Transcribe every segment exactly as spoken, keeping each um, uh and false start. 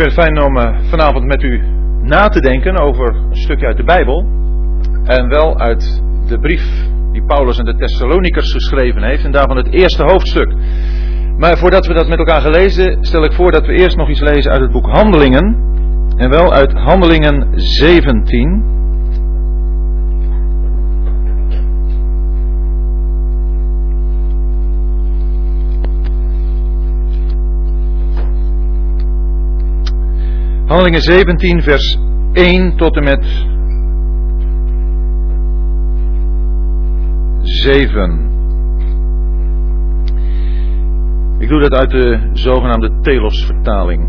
vind het fijn om uh, vanavond met u na te denken over een stukje uit de Bijbel. En wel uit de brief die Paulus aan de Thessalonikers geschreven heeft. En daarvan het eerste hoofdstuk. Maar voordat we dat met elkaar gaan lezen, stel ik voor dat we eerst nog iets lezen uit het boek Handelingen. En wel uit Handelingen zeventien. Handelingen zeventien, vers één tot en met zeven. Ik doe dat uit de zogenaamde Telos-vertaling.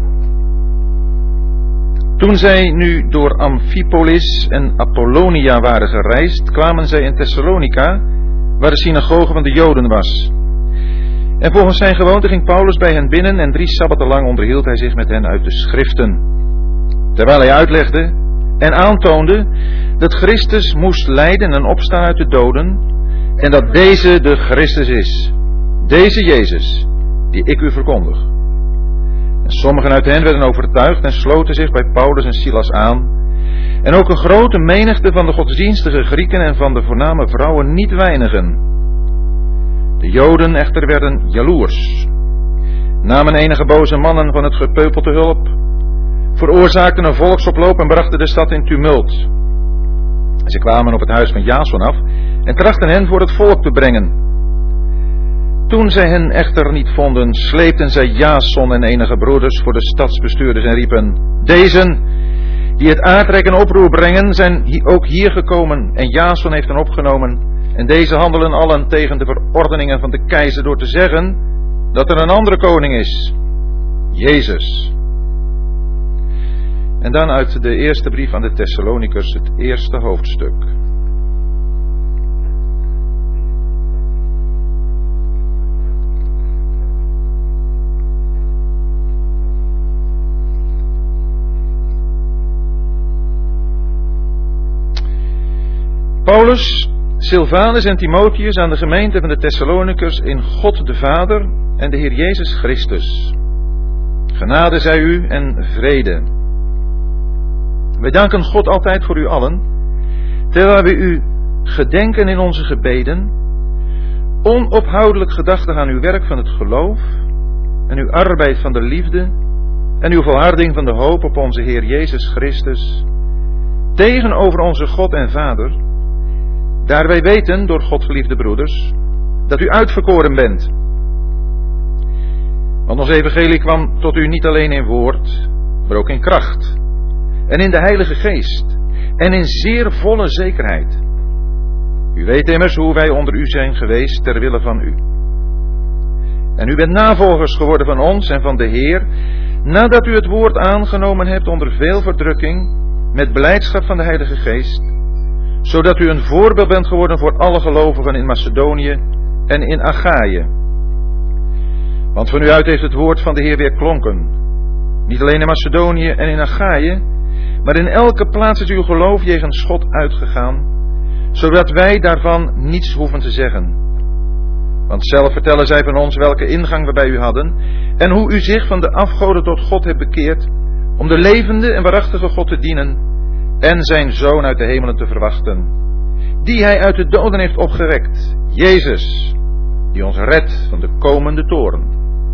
Toen zij nu door Amphipolis en Apollonia waren gereisd, kwamen zij in Thessalonica, waar de synagoge van de Joden was. En volgens zijn gewoonte ging Paulus bij hen binnen en drie sabbaten lang onderhield hij zich met hen uit de schriften. Terwijl hij uitlegde en aantoonde dat Christus moest lijden en opstaan uit de doden en dat deze de Christus is, deze Jezus, die ik u verkondig. En sommigen uit hen werden overtuigd en sloten zich bij Paulus en Silas aan. En ook een grote menigte van de godsdienstige Grieken en van de voorname vrouwen niet weinigen. De Joden echter werden jaloers, namen enige boze mannen van het gepeupel te hulp, veroorzaakten een volksoploop en brachten de stad in tumult. Ze kwamen op het huis van Jason af en trachten hen voor het volk te brengen. Toen zij hen echter niet vonden, sleepten zij Jason en enige broeders voor de stadsbestuurders en riepen: Dezen, die het aardrek en oproer brengen, zijn ook hier gekomen en Jason heeft hen opgenomen. En deze handelen allen tegen de verordeningen van de keizer door te zeggen dat er een andere koning is, Jezus. En dan uit de eerste brief aan de Thessalonikers, het eerste hoofdstuk. Paulus, Silvanus en Timotheus aan de gemeente van de Thessalonikers in God de Vader en de Heer Jezus Christus. Genade zij u en vrede. Wij danken God altijd voor u allen, terwijl we u gedenken in onze gebeden, onophoudelijk gedachtig aan uw werk van het geloof en uw arbeid van de liefde en uw volharding van de hoop op onze Heer Jezus Christus, tegenover onze God en Vader, daar wij weten, door God geliefde broeders, dat u uitverkoren bent. Want ons evangelie kwam tot u niet alleen in woord, maar ook in kracht. En in de Heilige Geest. En in zeer volle zekerheid. U weet immers hoe wij onder u zijn geweest ter wille van u. En u bent navolgers geworden van ons en van de Heer, nadat u het woord aangenomen hebt onder veel verdrukking, met blijdschap van de Heilige Geest, zodat u een voorbeeld bent geworden voor alle gelovigen in Macedonië en in Achaïe. Want van u uit heeft het woord van de Heer weer klonken. Niet alleen in Macedonië en in Achaïe, maar in elke plaats is uw geloof jegens God uitgegaan, zodat wij daarvan niets hoeven te zeggen. Want zelf vertellen zij van ons welke ingang we bij u hadden, en hoe u zich van de afgoden tot God hebt bekeerd, om de levende en waarachtige God te dienen, en zijn Zoon uit de hemelen te verwachten, die hij uit de doden heeft opgewekt, Jezus, die ons redt van de komende toorn.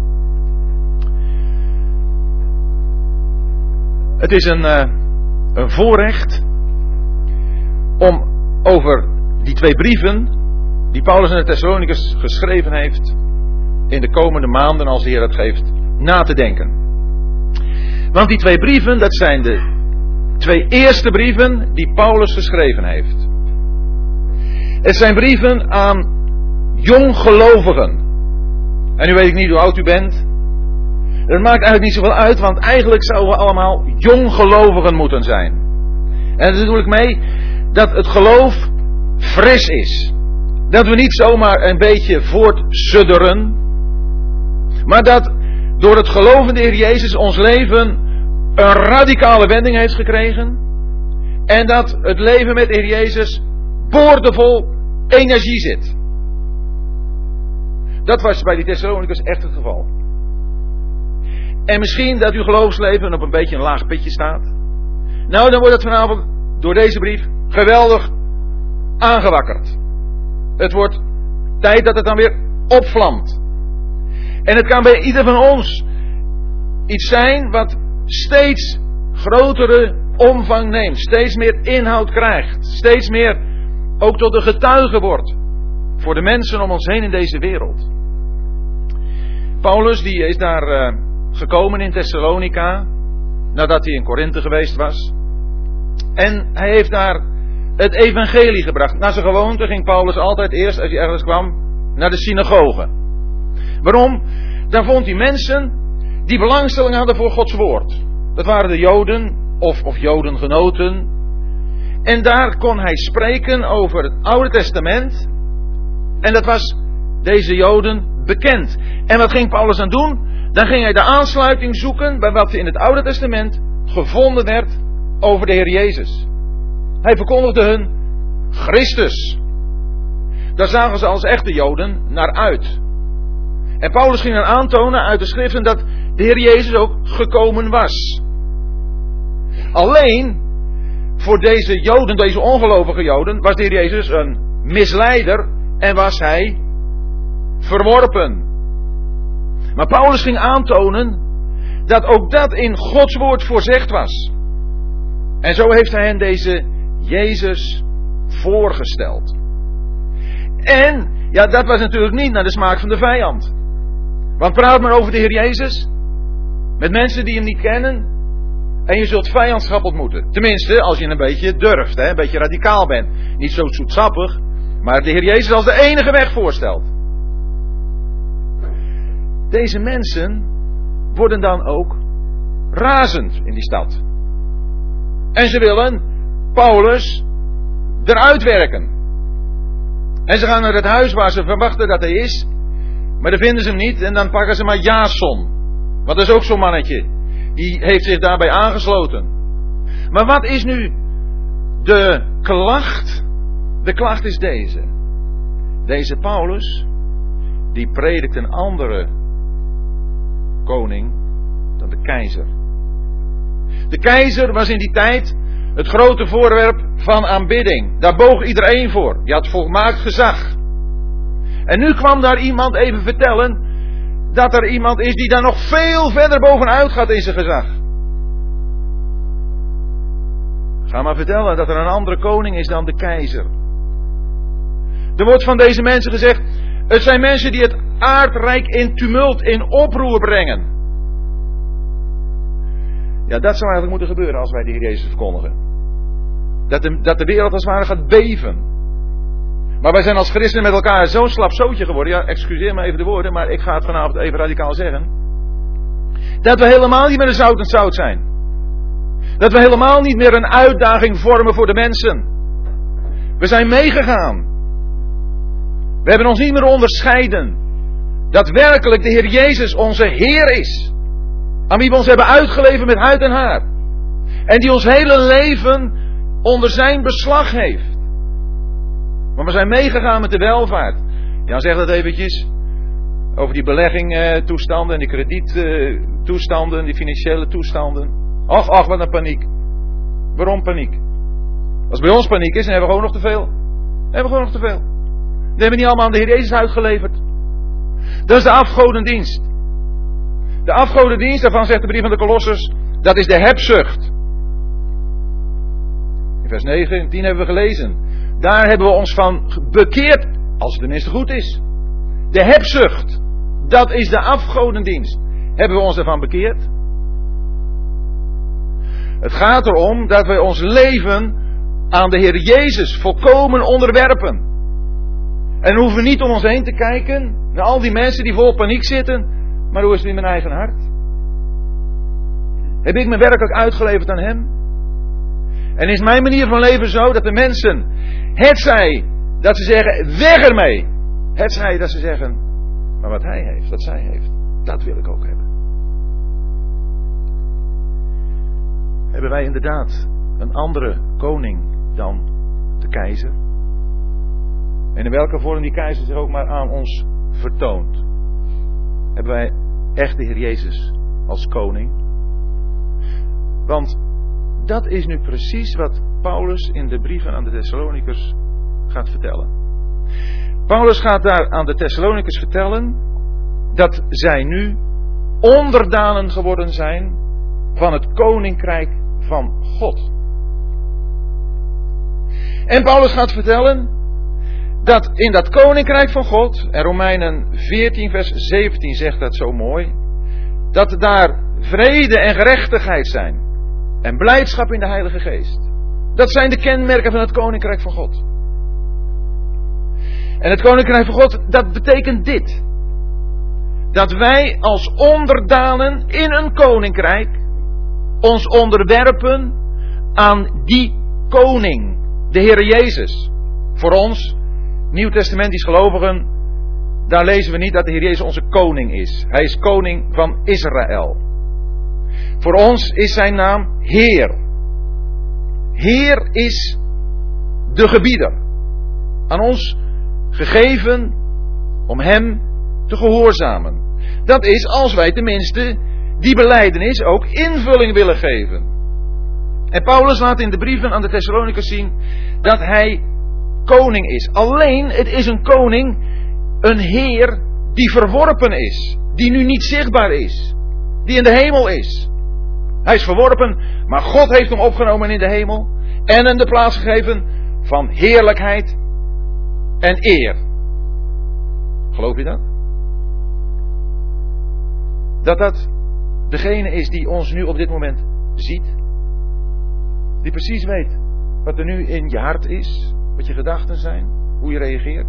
Het is een... Uh, Een voorrecht om over die twee brieven die Paulus aan de Thessalonikers geschreven heeft in de komende maanden, als de Heer het geeft, na te denken. Want die twee brieven, dat zijn de twee eerste brieven die Paulus geschreven heeft. Het zijn brieven aan jonggelovigen. En nu weet ik niet hoe oud u bent. Dat maakt eigenlijk niet zoveel uit, want eigenlijk zouden we allemaal jonggelovigen moeten zijn. En daar bedoel ik mee dat het geloof fris is. Dat we niet zomaar een beetje voortsudderen, maar dat door het geloof in de Heer Jezus ons leven een radicale wending heeft gekregen. En dat het leven met de Heer Jezus boordevol energie zit. Dat was bij die Thessalonikers echt het geval. En misschien dat uw geloofsleven op een beetje een laag pitje staat. Nou, dan wordt het vanavond door deze brief geweldig aangewakkerd. Het wordt tijd dat het dan weer opvlamt. En het kan bij ieder van ons iets zijn wat steeds grotere omvang neemt. Steeds meer inhoud krijgt. Steeds meer ook tot een getuige wordt. Voor de mensen om ons heen in deze wereld. Paulus die is daar uh, gekomen in Thessalonica. Nadat hij in Korinthe geweest was. En hij heeft daar het evangelie gebracht. Naar zijn gewoonte ging Paulus altijd eerst als hij ergens kwam naar de synagoge. Waarom? Daar vond hij mensen die belangstelling hadden voor Gods woord. Dat waren de Joden of, of Jodengenoten. En daar kon hij spreken over het Oude Testament. En dat was deze Joden bekend. En wat ging Paulus aan doen? Dan ging hij de aansluiting zoeken bij wat in het Oude Testament gevonden werd over de Heer Jezus. Hij verkondigde hun Christus. Daar zagen ze als echte Joden naar uit. En Paulus ging dan aantonen uit de schriften dat de Heer Jezus ook gekomen was. Alleen, voor deze Joden, deze ongelovige Joden, was de Heer Jezus een misleider en was hij verworpen. Maar Paulus ging aantonen dat ook dat in Gods woord voorzegd was. En zo heeft hij hen deze Jezus voorgesteld. En, ja, dat was natuurlijk niet naar de smaak van de vijand. Want praat maar over de Heer Jezus met mensen die hem niet kennen en je zult vijandschap ontmoeten. Tenminste, als je een beetje durft, hè, een beetje radicaal bent. Niet zo zoetsappig, maar de Heer Jezus als de enige weg voorstelt. Deze mensen worden dan ook razend in die stad. En ze willen Paulus eruit werken. En ze gaan naar het huis waar ze verwachten dat hij is. Maar dan vinden ze hem niet en dan pakken ze maar Jason. Want dat is ook zo'n mannetje. Die heeft zich daarbij aangesloten. Maar wat is nu de klacht? De klacht is deze. Deze Paulus, die predikt een andere koning dan de keizer. De keizer was in die tijd het grote voorwerp van aanbidding. Daar boog iedereen voor. Die had volmaakt gezag. En nu kwam daar iemand even vertellen dat er iemand is die daar nog veel verder bovenuit gaat in zijn gezag. Ga maar vertellen dat er een andere koning is dan de keizer. Er wordt van deze mensen gezegd, het zijn mensen die het aardrijk in tumult, in oproer brengen. Ja, dat zou eigenlijk moeten gebeuren als wij de Heer Jezus verkondigen. Dat de, dat de wereld als het ware gaat beven. Maar wij zijn als christenen met elkaar zo'n slap zootje geworden. Ja, excuseer me even de woorden, maar ik ga het vanavond even radicaal zeggen. Dat we helemaal niet meer een zout en zout zijn. Dat we helemaal niet meer een uitdaging vormen voor de mensen. We zijn meegegaan. We hebben ons niet meer onderscheiden. Dat werkelijk de Heer Jezus onze Heer is. Aan wie we ons hebben uitgeleverd met huid en haar. En die ons hele leven onder zijn beslag heeft. Maar we zijn meegegaan met de welvaart. Ja, zeg dat eventjes. Over die beleggingtoestanden en die krediettoestanden, die financiële toestanden. Och, ach, wat een paniek. Waarom paniek? Als bij ons paniek is, dan hebben we gewoon nog te veel. Dan hebben we gewoon nog te veel. Dan hebben we niet allemaal aan de Heer Jezus uitgeleverd. Dat is de afgodendienst. De afgodendienst, daarvan zegt de brief van de Kolossers, dat is de hebzucht. In vers negen en tien hebben we gelezen. Daar hebben we ons van bekeerd, als het tenminste goed is. De hebzucht, dat is de afgodendienst. Hebben we ons ervan bekeerd? Het gaat erom dat wij ons leven aan de Heer Jezus volkomen onderwerpen. En we hoeven niet om ons heen te kijken naar al die mensen die vol paniek zitten. Maar hoe is het in mijn eigen hart? Heb ik me werkelijk uitgeleverd aan Hem? En is mijn manier van leven zo dat de mensen, het zij dat ze zeggen, weg ermee. Het zij dat ze zeggen, maar wat Hij heeft, wat zij heeft, dat wil ik ook hebben. Hebben wij inderdaad een andere koning dan de keizer? En in welke vorm die keizer zich ook maar aan ons vertoont. Hebben wij echt de Heer Jezus als koning. Want dat is nu precies wat Paulus in de brieven aan de Thessalonikers gaat vertellen. Paulus gaat daar aan de Thessalonikers vertellen dat zij nu onderdanen geworden zijn van het koninkrijk van God. En Paulus gaat vertellen dat in dat koninkrijk van God, en Romeinen veertien vers zeventien zegt dat zo mooi, dat daar vrede en gerechtigheid zijn en blijdschap in de Heilige Geest. Dat zijn de kenmerken van het koninkrijk van God. En het koninkrijk van God, dat betekent dit. Dat wij als onderdanen in een koninkrijk ons onderwerpen aan die koning, de Heer Jezus. Voor ons, Nieuwtestamentisch gelovigen, daar lezen we niet dat de Heer Jezus onze koning is. Hij is koning van Israël. Voor ons is zijn naam Heer. Heer is de gebieder. Aan ons gegeven om hem te gehoorzamen. Dat is als wij tenminste die belijdenis ook invulling willen geven. En Paulus laat in de brieven aan de Thessalonikers zien dat hij koning is. Alleen het is een koning, een heer die verworpen is. Die nu niet zichtbaar is. Die in de hemel is. Hij is verworpen, maar God heeft hem opgenomen in de hemel. En hem de plaats gegeven van heerlijkheid en eer. Geloof je dat? Dat dat degene is die ons nu op dit moment ziet. Die precies weet wat er nu in je hart is. Wat je gedachten zijn. Hoe je reageert.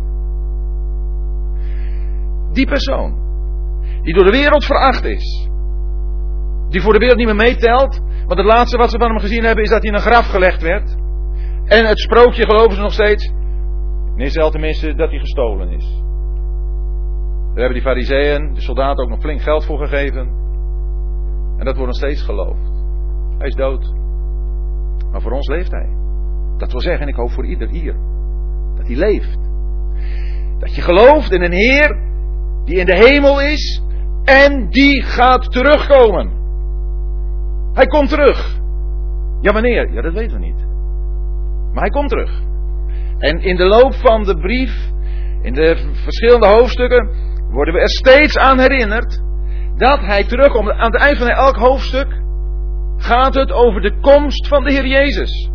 Die persoon. Die door de wereld veracht is. Die voor de wereld niet meer meetelt. Want het laatste wat ze van hem gezien hebben is dat hij in een graf gelegd werd. En het sprookje geloven ze nog steeds. In Israël tenminste dat hij gestolen is. Daar hebben die farizeeën, de soldaten ook nog flink geld voor gegeven. En dat wordt nog steeds geloofd. Hij is dood. Maar voor ons leeft hij. Dat wil zeggen, en ik hoop voor ieder hier, dat hij leeft. Dat je gelooft in een Heer die in de hemel is en die gaat terugkomen. Hij komt terug. Ja, wanneer? Ja, dat weten we niet. Maar hij komt terug. En in de loop van de brief, in de verschillende hoofdstukken, worden we er steeds aan herinnerd dat hij terugkomt. Aan het eind van elk hoofdstuk gaat het over de komst van de Heer Jezus.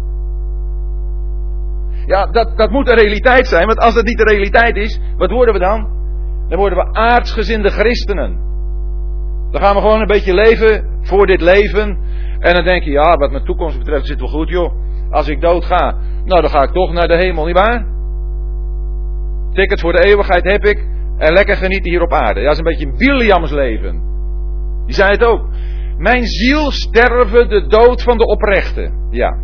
Ja, dat, dat moet een realiteit zijn, want als dat niet de realiteit is, wat worden we dan? Dan worden we aardsgezinde christenen. Dan gaan we gewoon een beetje leven voor dit leven. En dan denk je, ja, wat mijn toekomst betreft zit wel goed, joh. Als ik dood ga, nou dan ga ik toch naar de hemel, nietwaar? Tickets voor de eeuwigheid heb ik. En lekker genieten hier op aarde. Ja, dat is een beetje een Biliams leven. Die zei het ook. Mijn ziel sterven de dood van de oprechte. Ja.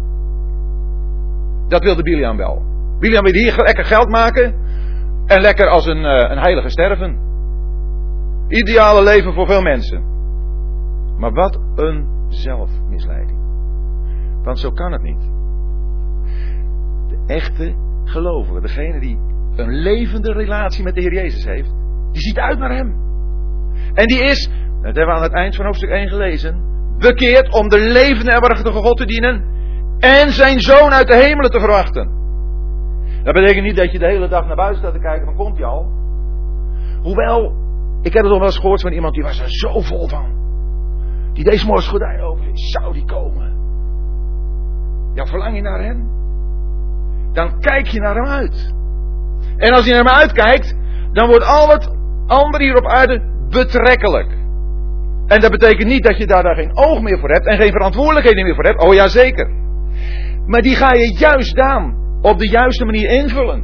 Dat wilde Biliam wel. Biliam wilde hier lekker geld maken. En lekker als een, uh, een heilige sterven. Ideale leven voor veel mensen. Maar wat een zelfmisleiding. Want zo kan het niet. De echte gelovige, degene die een levende relatie met de Heer Jezus heeft, die ziet uit naar hem. En die is, dat hebben we aan het eind van hoofdstuk één gelezen, bekeerd om de levende en waarachtige God te dienen en zijn zoon uit de hemelen te verwachten. Dat betekent niet dat je de hele dag naar buiten staat te kijken van komt hij al. Hoewel, ik heb het nog wel eens gehoord van iemand die was er zo vol van. Die deed 's morgens gordijn open. Zou die komen? Ja, verlang je naar hem? Dan kijk je naar hem uit. En als je naar hem uitkijkt, dan wordt al het andere hier op aarde betrekkelijk. En dat betekent niet dat je daar, daar geen oog meer voor hebt en geen verantwoordelijkheden meer voor hebt. Oh ja, zeker. Maar die ga je juist dan op de juiste manier invullen.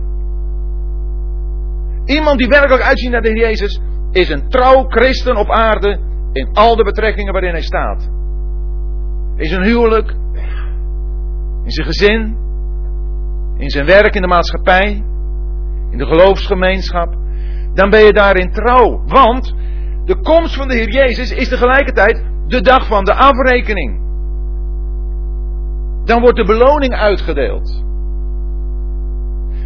Iemand die werkelijk uitziet naar de Heer Jezus is een trouw christen op aarde in al de betrekkingen waarin hij staat. In zijn huwelijk, in zijn gezin, in zijn werk in de maatschappij, in de geloofsgemeenschap. Dan ben je daarin trouw. Want de komst van de Heer Jezus is tegelijkertijd de dag van de afrekening. Dan wordt de beloning uitgedeeld.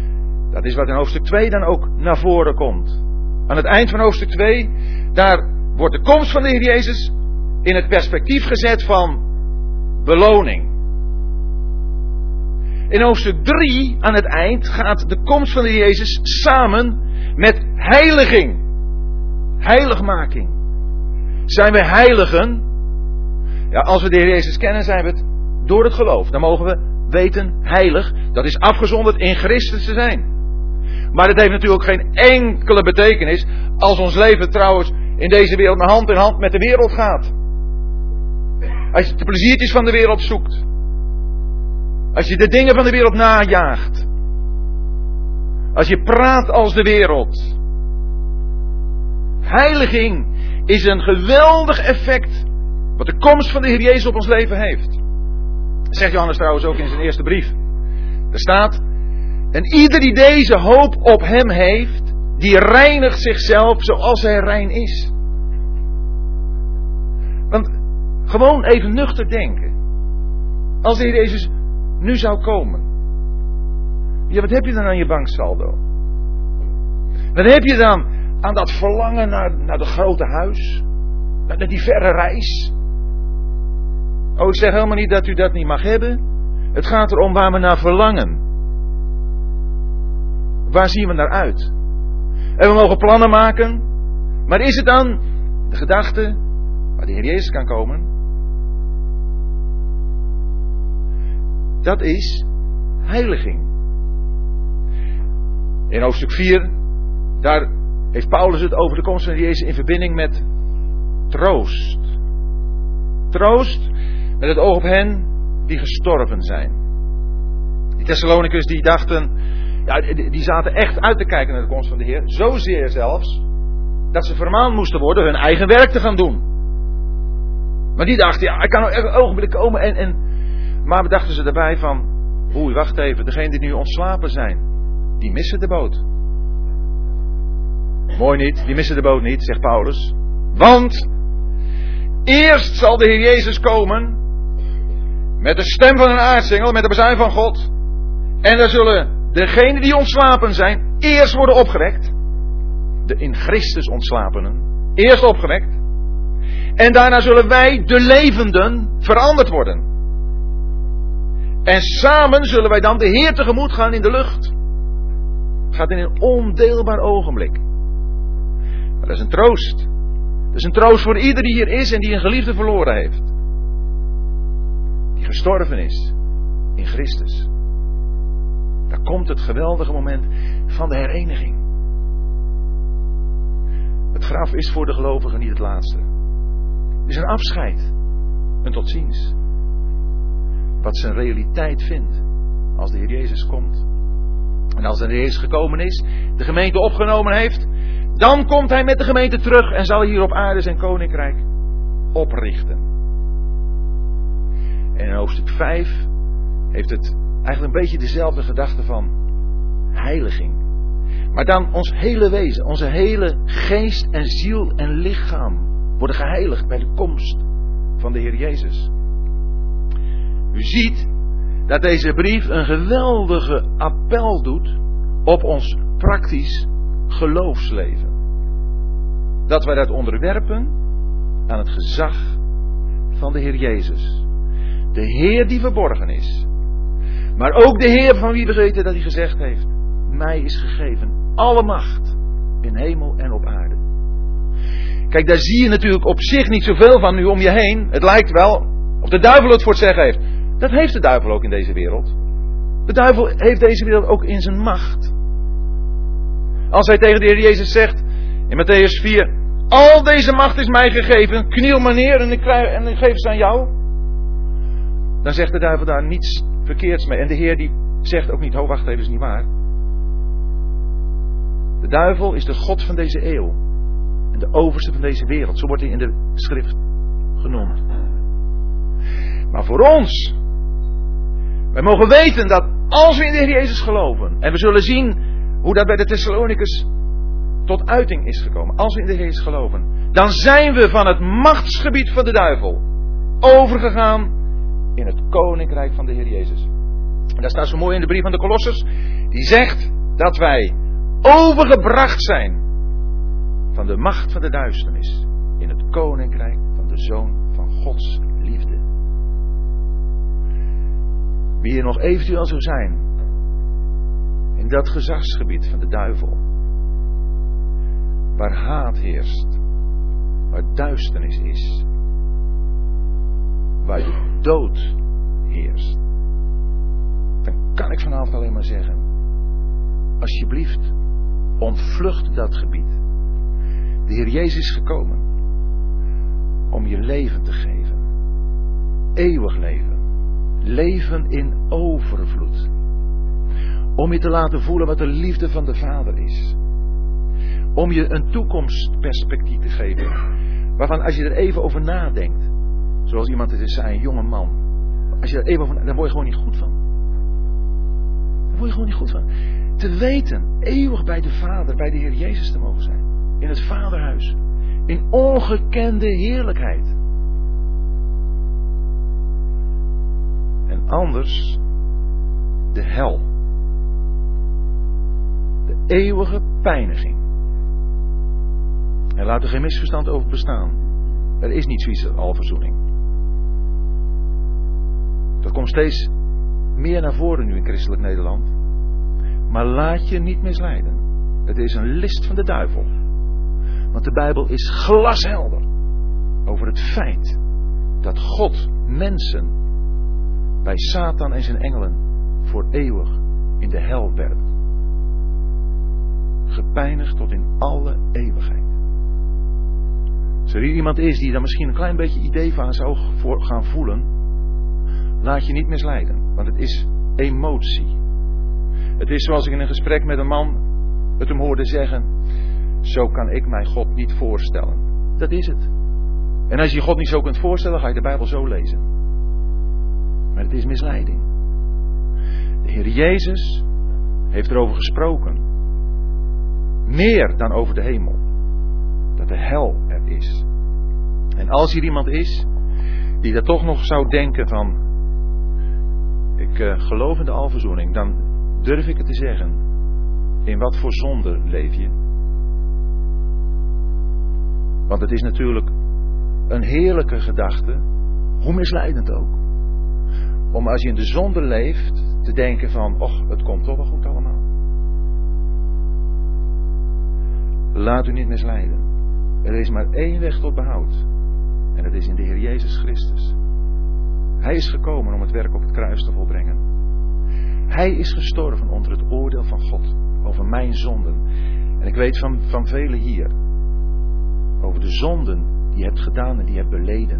Dat is wat in hoofdstuk twee dan ook naar voren komt. Aan het eind van hoofdstuk twee, daar wordt de komst van de Heer Jezus in het perspectief gezet van beloning. In hoofdstuk drie aan het eind gaat de komst van de Heer Jezus samen met heiliging. Heiligmaking. Zijn we heiligen? Ja, als we de Heer Jezus kennen, zijn we het door het geloof. Dan mogen we weten heilig. Dat is afgezonderd in Christus te zijn. Maar het heeft natuurlijk geen enkele betekenis als ons leven trouwens in deze wereld met hand in hand met de wereld gaat. Als je de pleziertjes van de wereld zoekt. Als je de dingen van de wereld najaagt. Als je praat als de wereld. Heiliging is een geweldig effect wat de komst van de Heer Jezus op ons leven heeft. Dat zegt Johannes trouwens ook in zijn eerste brief. Er staat: en ieder die deze hoop op hem heeft, die reinigt zichzelf zoals hij rein is. Want gewoon even nuchter denken. Als de Heer Jezus nu zou komen. Ja, wat heb je dan aan je banksaldo? Wat heb je dan aan dat verlangen naar, naar dat grote huis? Naar die verre reis? Oh, ik zeg helemaal niet dat u dat niet mag hebben. Het gaat erom waar we naar verlangen. Waar zien we naar uit? En we mogen plannen maken. Maar is het dan de gedachte waar de Heer Jezus kan komen? Dat is heiliging. In hoofdstuk vier, daar heeft Paulus het over de komst van de Heer Jezus in verbinding met troost. Troost met het oog op hen die gestorven zijn. Die Thessalonicus die dachten, ja, die zaten echt uit te kijken naar de komst van de Heer. Zozeer zelfs, dat ze vermaand moesten worden hun eigen werk te gaan doen. Maar die dachten, ja, ik kan nog echt een ogenblik komen en... en maar bedachten ze daarbij van, oei, wacht even, degenen die nu ontslapen zijn, die missen de boot. Mooi niet, die missen de boot niet, zegt Paulus. Want eerst zal de Heer Jezus komen met de stem van een aartsengel, met de bazuin van God. En dan zullen degenen die ontslapen zijn eerst worden opgewekt. De in Christus ontslapenen. Eerst opgewekt. En daarna zullen wij, de levenden, veranderd worden. En samen zullen wij dan de Heer tegemoet gaan in de lucht. Het gaat in een ondeelbaar ogenblik. Maar dat is een troost. Dat is een troost voor ieder die hier is en die een geliefde verloren heeft. Die gestorven is in Christus. Daar komt het geweldige moment van de hereniging. Het graf is voor de gelovigen niet het laatste. Het is een afscheid. Een tot ziens. Wat zijn realiteit vindt als de Heer Jezus komt. En als de Heer Jezus gekomen is, de gemeente opgenomen heeft, dan komt hij met de gemeente terug en zal hier op aarde zijn koninkrijk oprichten. En in hoofdstuk vijf heeft het eigenlijk een beetje dezelfde gedachte van heiliging. Maar dan ons hele wezen, onze hele geest en ziel en lichaam worden geheiligd bij de komst van de Heer Jezus. U ziet dat deze brief een geweldige appel doet op ons praktisch geloofsleven. Dat wij dat onderwerpen aan het gezag van de Heer Jezus. De Heer die verborgen is. Maar ook de Heer van wie we weten dat hij gezegd heeft: mij is gegeven alle macht in hemel en op aarde. Kijk, daar zie je natuurlijk op zich niet zoveel van nu om je heen. Het lijkt wel of de duivel het voor het zeggen heeft. Dat heeft de duivel ook in deze wereld. De duivel heeft deze wereld ook in zijn macht. Als hij tegen de Heer Jezus zegt in Matthäus vier: al deze macht is mij gegeven, kniel maar neer en ik, krijg, en ik geef ze aan jou. Dan zegt de duivel daar niets verkeerds mee. En de Heer die zegt ook niet: ho, wacht even, is niet waar. De duivel is de god van deze eeuw. En de overste van deze wereld. Zo wordt hij in de schrift genoemd. Maar voor ons, wij mogen weten dat als we in de Heer Jezus geloven, en we zullen zien hoe dat bij de Thessalonicus tot uiting is gekomen. Als we in de Heer Jezus geloven, dan zijn we van het machtsgebied van de duivel overgegaan in het koninkrijk van de Heer Jezus. En daar staat zo mooi in de brief van de Kolossers. Die zegt dat wij overgebracht zijn van de macht van de duisternis in het koninkrijk van de Zoon van Gods liefde. Wie er nog eventueel zou zijn in dat gezagsgebied van de duivel, waar haat heerst, waar duisternis is, waar de dood heerst, dan kan ik vanavond alleen maar zeggen, alsjeblieft, ontvlucht dat gebied. De Heer Jezus is gekomen om je leven te geven. Eeuwig leven. Leven in overvloed. Om je te laten voelen wat de liefde van de Vader is. Om je een toekomstperspectief te geven. Waarvan als je er even over nadenkt. Zoals iemand het is zei, een jonge man. Als je er even over nadenkt, dan word je gewoon niet goed van. Daar word je gewoon niet goed van. Te weten, eeuwig bij de Vader, bij de Heer Jezus te mogen zijn. In het Vaderhuis. In ongekende heerlijkheid. En anders de hel. De eeuwige pijniging. En laat er geen misverstand over bestaan. Er is niet zoiets als alverzoening. Dat komt steeds meer naar voren nu in christelijk Nederland. Maar laat je niet misleiden. Het is een list van de duivel. Want de Bijbel is glashelder over het feit dat God mensen bij Satan en zijn engelen voor eeuwig in de hel werpt. Gepijnigd tot in alle eeuwigheid. Als er hier iemand is die daar misschien een klein beetje idee van zou gaan voelen, laat je niet misleiden, want het is emotie. Het is zoals ik in een gesprek met een man het hem hoorde zeggen, zo kan ik mij God niet voorstellen. Dat is het. En als je God niet zo kunt voorstellen, ga je de Bijbel zo lezen. Maar het is misleiding. De Heer Jezus heeft erover gesproken. Meer dan over de hemel. Dat de hel er is. En als hier iemand is die dat toch nog zou denken van, ik uh, geloof in de alverzoening, dan durf ik het te zeggen. In wat voor zonde leef je? Want het is natuurlijk een heerlijke gedachte, hoe misleidend ook. Om als je in de zonde leeft, te denken van, och, het komt toch wel goed allemaal. Laat u niet misleiden. Er is maar één weg tot behoud. En dat is in de Heer Jezus Christus. Hij is gekomen om het werk op het kruis te volbrengen. Hij is gestorven onder het oordeel van God over mijn zonden. En ik weet van, van velen hier over de zonden die je hebt gedaan en die je hebt beleden.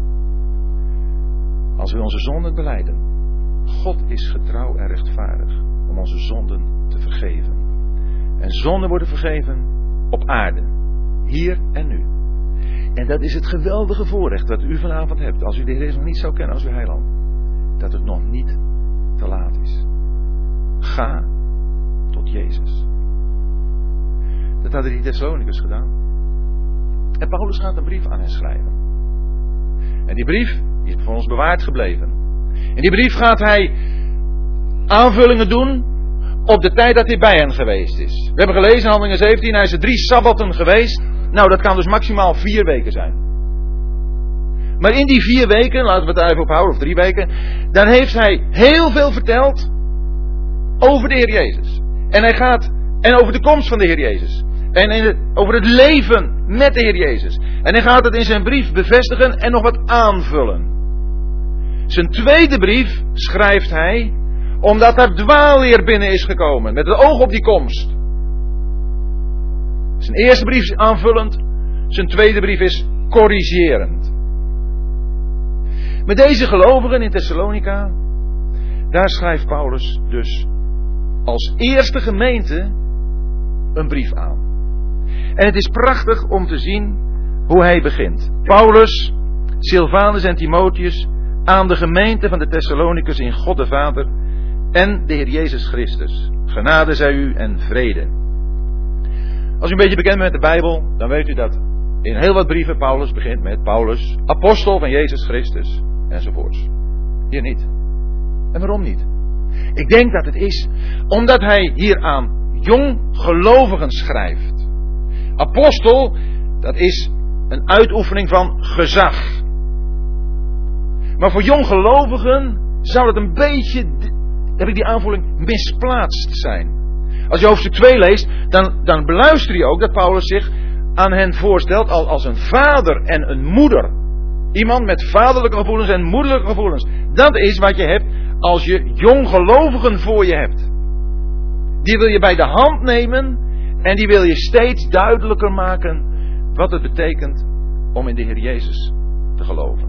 Als we onze zonden belijden, God is getrouw en rechtvaardig om onze zonden te vergeven. En zonden worden vergeven op aarde, hier en nu. En dat is het geweldige voorrecht dat u vanavond hebt, als u de Heer Jezus nog niet zou kennen als uw heiland, dat het nog niet te laat is. Ga tot Jezus. Dat hadden die Thessalonicus gedaan. En Paulus gaat een brief aan hen schrijven. En die brief die is voor ons bewaard gebleven. In die brief gaat hij aanvullingen doen op de tijd dat hij bij hen geweest is. We hebben gelezen in Handelingen zeventien, hij is er drie sabbatten geweest. Nou, dat kan dus maximaal vier weken zijn. Maar in die vier weken, laten we het daar even op houden, of drie weken, dan heeft hij heel veel verteld over de Heer Jezus. En hij gaat, en over de komst van de Heer Jezus. En in het, over het leven met de Heer Jezus. En hij gaat het in zijn brief bevestigen en nog wat aanvullen. Zijn tweede brief schrijft hij omdat er dwaalleer binnen is gekomen. Met het oog op die komst. Zijn eerste brief is aanvullend. Zijn tweede brief is corrigerend. Met deze gelovigen in Thessalonica, daar schrijft Paulus dus als eerste gemeente een brief aan. En het is prachtig om te zien hoe hij begint. Paulus, Silvanus en Timotheus aan de gemeente van de Thessalonicus in God de Vader en de Heer Jezus Christus. Genade zij u en vrede. Als u een beetje bekend bent met de Bijbel, dan weet u dat in heel wat brieven Paulus begint met Paulus, apostel van Jezus Christus enzovoorts. Hier niet. En waarom niet? Ik denk dat het is omdat hij hier aan jong gelovigen schrijft. Apostel, dat is een uitoefening van gezag. Maar voor jonggelovigen zou het een beetje, heb ik die aanvoeling, misplaatst zijn. Als je hoofdstuk twee leest, dan, dan beluister je ook dat Paulus zich aan hen voorstelt als een vader en een moeder. Iemand met vaderlijke gevoelens en moederlijke gevoelens. Dat is wat je hebt als je jonggelovigen voor je hebt. Die wil je bij de hand nemen en die wil je steeds duidelijker maken wat het betekent om in de Heer Jezus te geloven.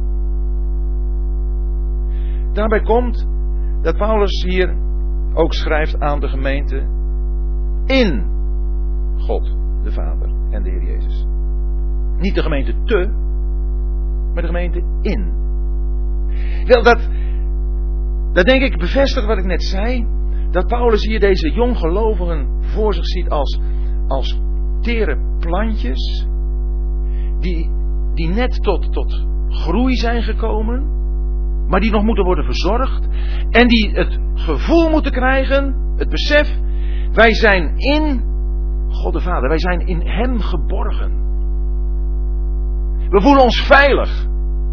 Daarbij komt dat Paulus hier ook schrijft aan de gemeente in God de Vader en de Heer Jezus. Niet de gemeente te, maar de gemeente in. Wel, dat, dat denk ik bevestigt wat ik net zei. Dat Paulus hier deze jonggelovigen voor zich ziet als, als tere plantjes. Die, die net tot, tot groei zijn gekomen. Maar die nog moeten worden verzorgd. En die het gevoel moeten krijgen, het besef. Wij zijn in God de Vader. Wij zijn in Hem geborgen. We voelen ons veilig.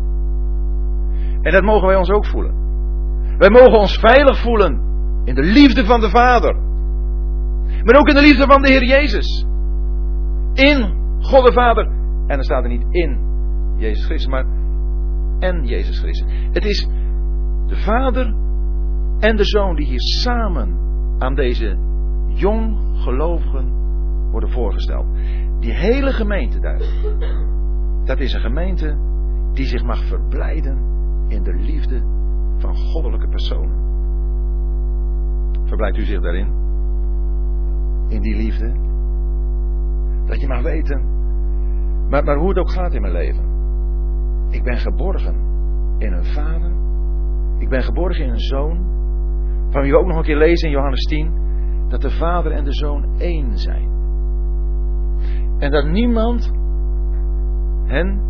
En dat mogen wij ons ook voelen. Wij mogen ons veilig voelen in de liefde van de Vader. Maar ook in de liefde van de Heer Jezus. In God de Vader. En dan staat er niet in Jezus Christus, maar en Jezus Christus. Het is de Vader en de Zoon die hier samen aan deze jong gelovigen worden voorgesteld. Die hele gemeente daar. Dat is een gemeente die zich mag verblijden in de liefde van goddelijke personen. Verblijdt u zich daarin? In die liefde? Dat je mag weten, maar, maar hoe het ook gaat in mijn leven. Ik ben geborgen in een vader. Ik ben geborgen in een zoon. Van wie we ook nog een keer lezen in Johannes tien. Dat de vader en de zoon één zijn. En dat niemand hen,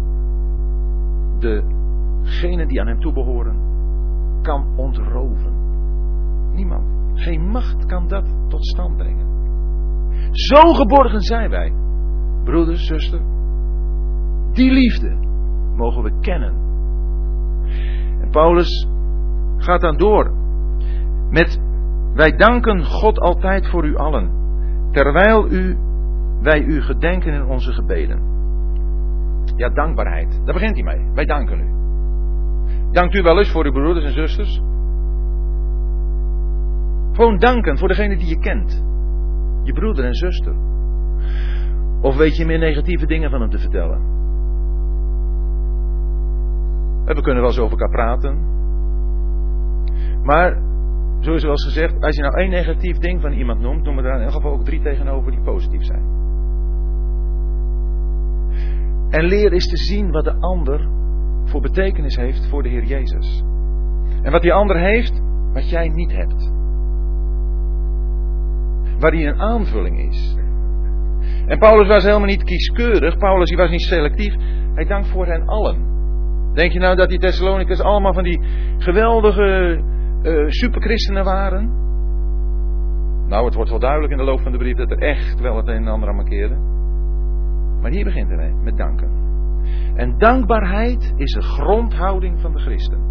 degenen die aan hem toebehoren, kan ontroven. Niemand. Geen macht kan dat tot stand brengen. Zo geborgen zijn wij. Broeder, zuster. Die liefde mogen we kennen. En Paulus gaat dan door met: wij danken God altijd voor u allen, terwijl u, wij u gedenken in onze gebeden. Ja, dankbaarheid. Daar begint hij mee. Wij danken u. Dankt u wel eens voor uw broeders en zusters? Gewoon danken voor degene die je kent. Je broeder en zuster. Of weet je meer negatieve dingen van hem te vertellen? We kunnen wel eens over elkaar praten. Maar, zoals wel eens gezegd, als je nou één negatief ding van iemand noemt, noem er daar in elk geval ook drie tegenover die positief zijn. En leer is te zien wat de ander voor betekenis heeft voor de Heer Jezus. En wat die ander heeft, wat jij niet hebt. Waar hij een aanvulling is. En Paulus was helemaal niet kieskeurig. Paulus was niet selectief. Hij dankt voor hen allen. Denk je nou dat die Thessalonicërs allemaal van die geweldige uh, superchristenen waren? Nou, het wordt wel duidelijk in de loop van de brief dat er echt wel het een en ander aan mankeerde. Maar hier begint hij met danken. En dankbaarheid is een grondhouding van de christen.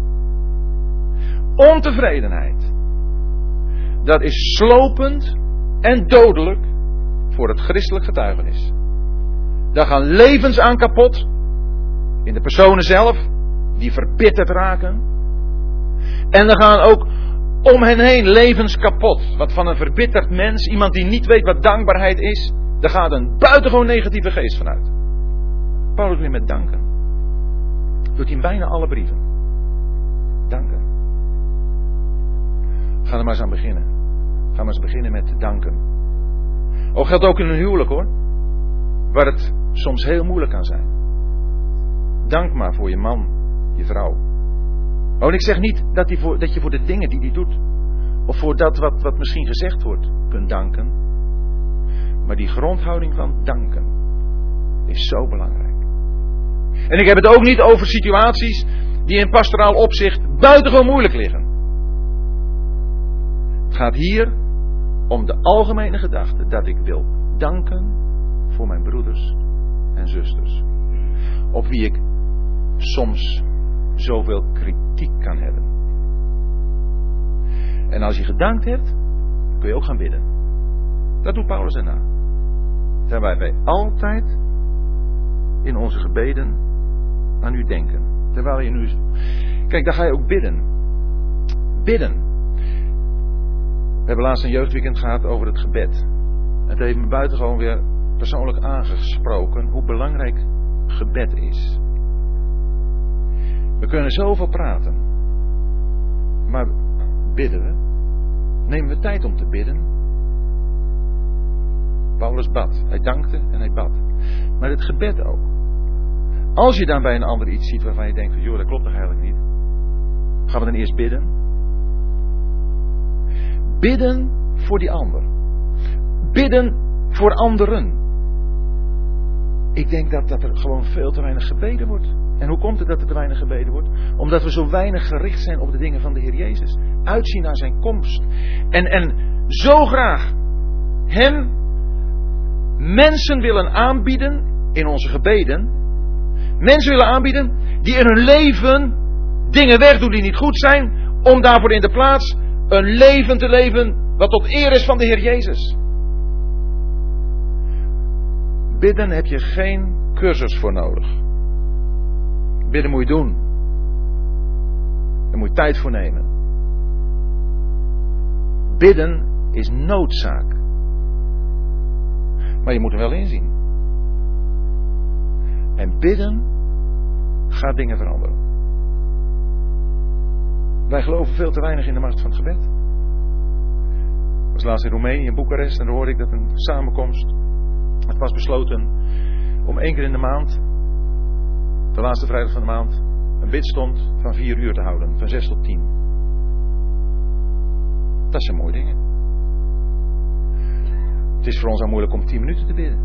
Ontevredenheid. Dat is slopend en dodelijk voor het christelijk getuigenis. Daar gaan levens aan kapot. In de personen zelf. Die verbitterd raken. En er gaan ook om hen heen levens kapot. Want van een verbitterd mens, iemand die niet weet wat dankbaarheid is, daar gaat een buitengewoon negatieve geest vanuit. Paulus weer met danken. Doet hij in bijna alle brieven. Danken. Ga er maar eens aan beginnen. Ga maar eens beginnen met danken. Ook geldt ook in een huwelijk hoor. Waar het soms heel moeilijk kan zijn. Dank maar voor je man, je vrouw. Oh, en ik zeg niet dat, die voor, dat je voor de dingen die hij doet, of voor dat wat, wat misschien gezegd wordt, kunt danken. Maar die grondhouding van danken is zo belangrijk. En ik heb het ook niet over situaties die in pastoraal opzicht buitengewoon moeilijk liggen. Het gaat hier om de algemene gedachte dat ik wil danken voor mijn broeders en zusters. op wie ik soms zoveel kritiek kan hebben. En als je gedankt hebt, kun je ook gaan bidden. Dat doet Paulus daarna. Terwijl wij altijd in onze gebeden aan u denken. Terwijl je nu... Kijk, daar ga je ook bidden. Bidden. We hebben laatst een jeugdweekend gehad over het gebed. Het heeft me buitengewoon weer persoonlijk aangesproken hoe belangrijk gebed is. We kunnen zoveel praten. Maar bidden we? Nemen we tijd om te bidden? Paulus bad. Hij dankte en hij bad. Maar het gebed ook. Als je dan bij een ander iets ziet waarvan je denkt van, joh, dat klopt toch eigenlijk niet? Gaan we dan eerst bidden? Bidden voor die ander. Bidden voor anderen. Ik denk dat, dat er gewoon veel te weinig gebeden wordt. En hoe komt het dat er te weinig gebeden wordt? Omdat we zo weinig gericht zijn op de dingen van de Heer Jezus. Uitzien naar zijn komst. En, en zo graag hem mensen willen aanbieden in onze gebeden. Mensen willen aanbieden die in hun leven dingen wegdoen die niet goed zijn. Om daarvoor in de plaats een leven te leven wat tot eer is van de Heer Jezus. Bidden heb je geen cursus voor nodig. Bidden moet je doen. Daar moet je tijd voor nemen. Bidden is noodzaak. Maar je moet er wel inzien. En bidden gaat dingen veranderen. Wij geloven veel te weinig in de macht van het gebed. Ik was laatst in Roemenië, in Boekarest, en daar hoorde ik dat een samenkomst. Het was besloten om één keer in de maand, de laatste vrijdag van de maand, een bidstond van vier uur te houden. Van zes tot tien. Dat zijn mooie dingen. Het is voor ons al moeilijk om tien minuten te bidden.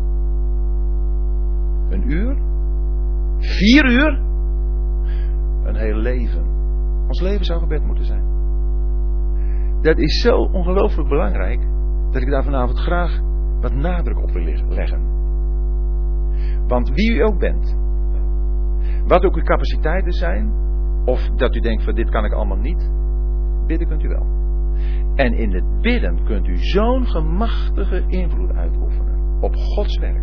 Een uur? Vier uur? Een heel leven. Ons leven zou gebed moeten zijn. Dat is zo ongelooflijk belangrijk, dat ik daar vanavond graag wat nadruk op wil leggen. Want wie u ook bent, wat ook uw capaciteiten zijn, of dat u denkt van dit kan ik allemaal niet, bidden kunt u wel. En in het bidden kunt u zo'n gemachtige invloed uitoefenen op Gods werk.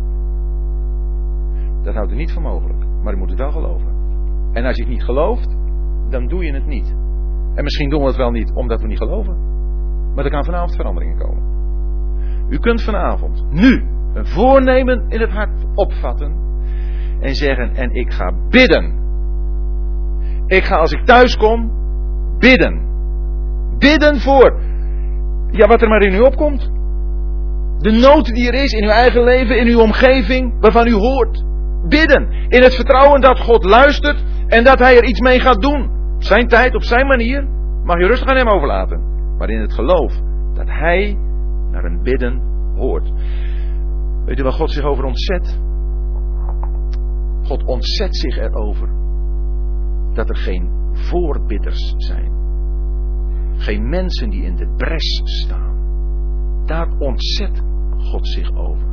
Dat houdt u niet voor mogelijk, maar u moet het wel geloven. En als je het niet gelooft, dan doe je het niet. En misschien doen we het wel niet omdat we niet geloven. Maar er kan vanavond veranderingen komen. U kunt vanavond, nu, een voornemen in het hart opvatten. En zeggen, en ik ga bidden. Ik ga als ik thuis kom, bidden. Bidden voor, ja, wat er maar in u opkomt. De nood die er is in uw eigen leven, in uw omgeving, waarvan u hoort. Bidden. In het vertrouwen dat God luistert en dat hij er iets mee gaat doen. Op zijn tijd, op zijn manier. Mag je rustig aan hem overlaten. Maar in het geloof dat hij naar een bidden hoort. Weet u waar God zich over ontzet? God ontzet zich erover dat er geen voorbidders zijn. Geen mensen die in de bres staan. Daar ontzet God zich over.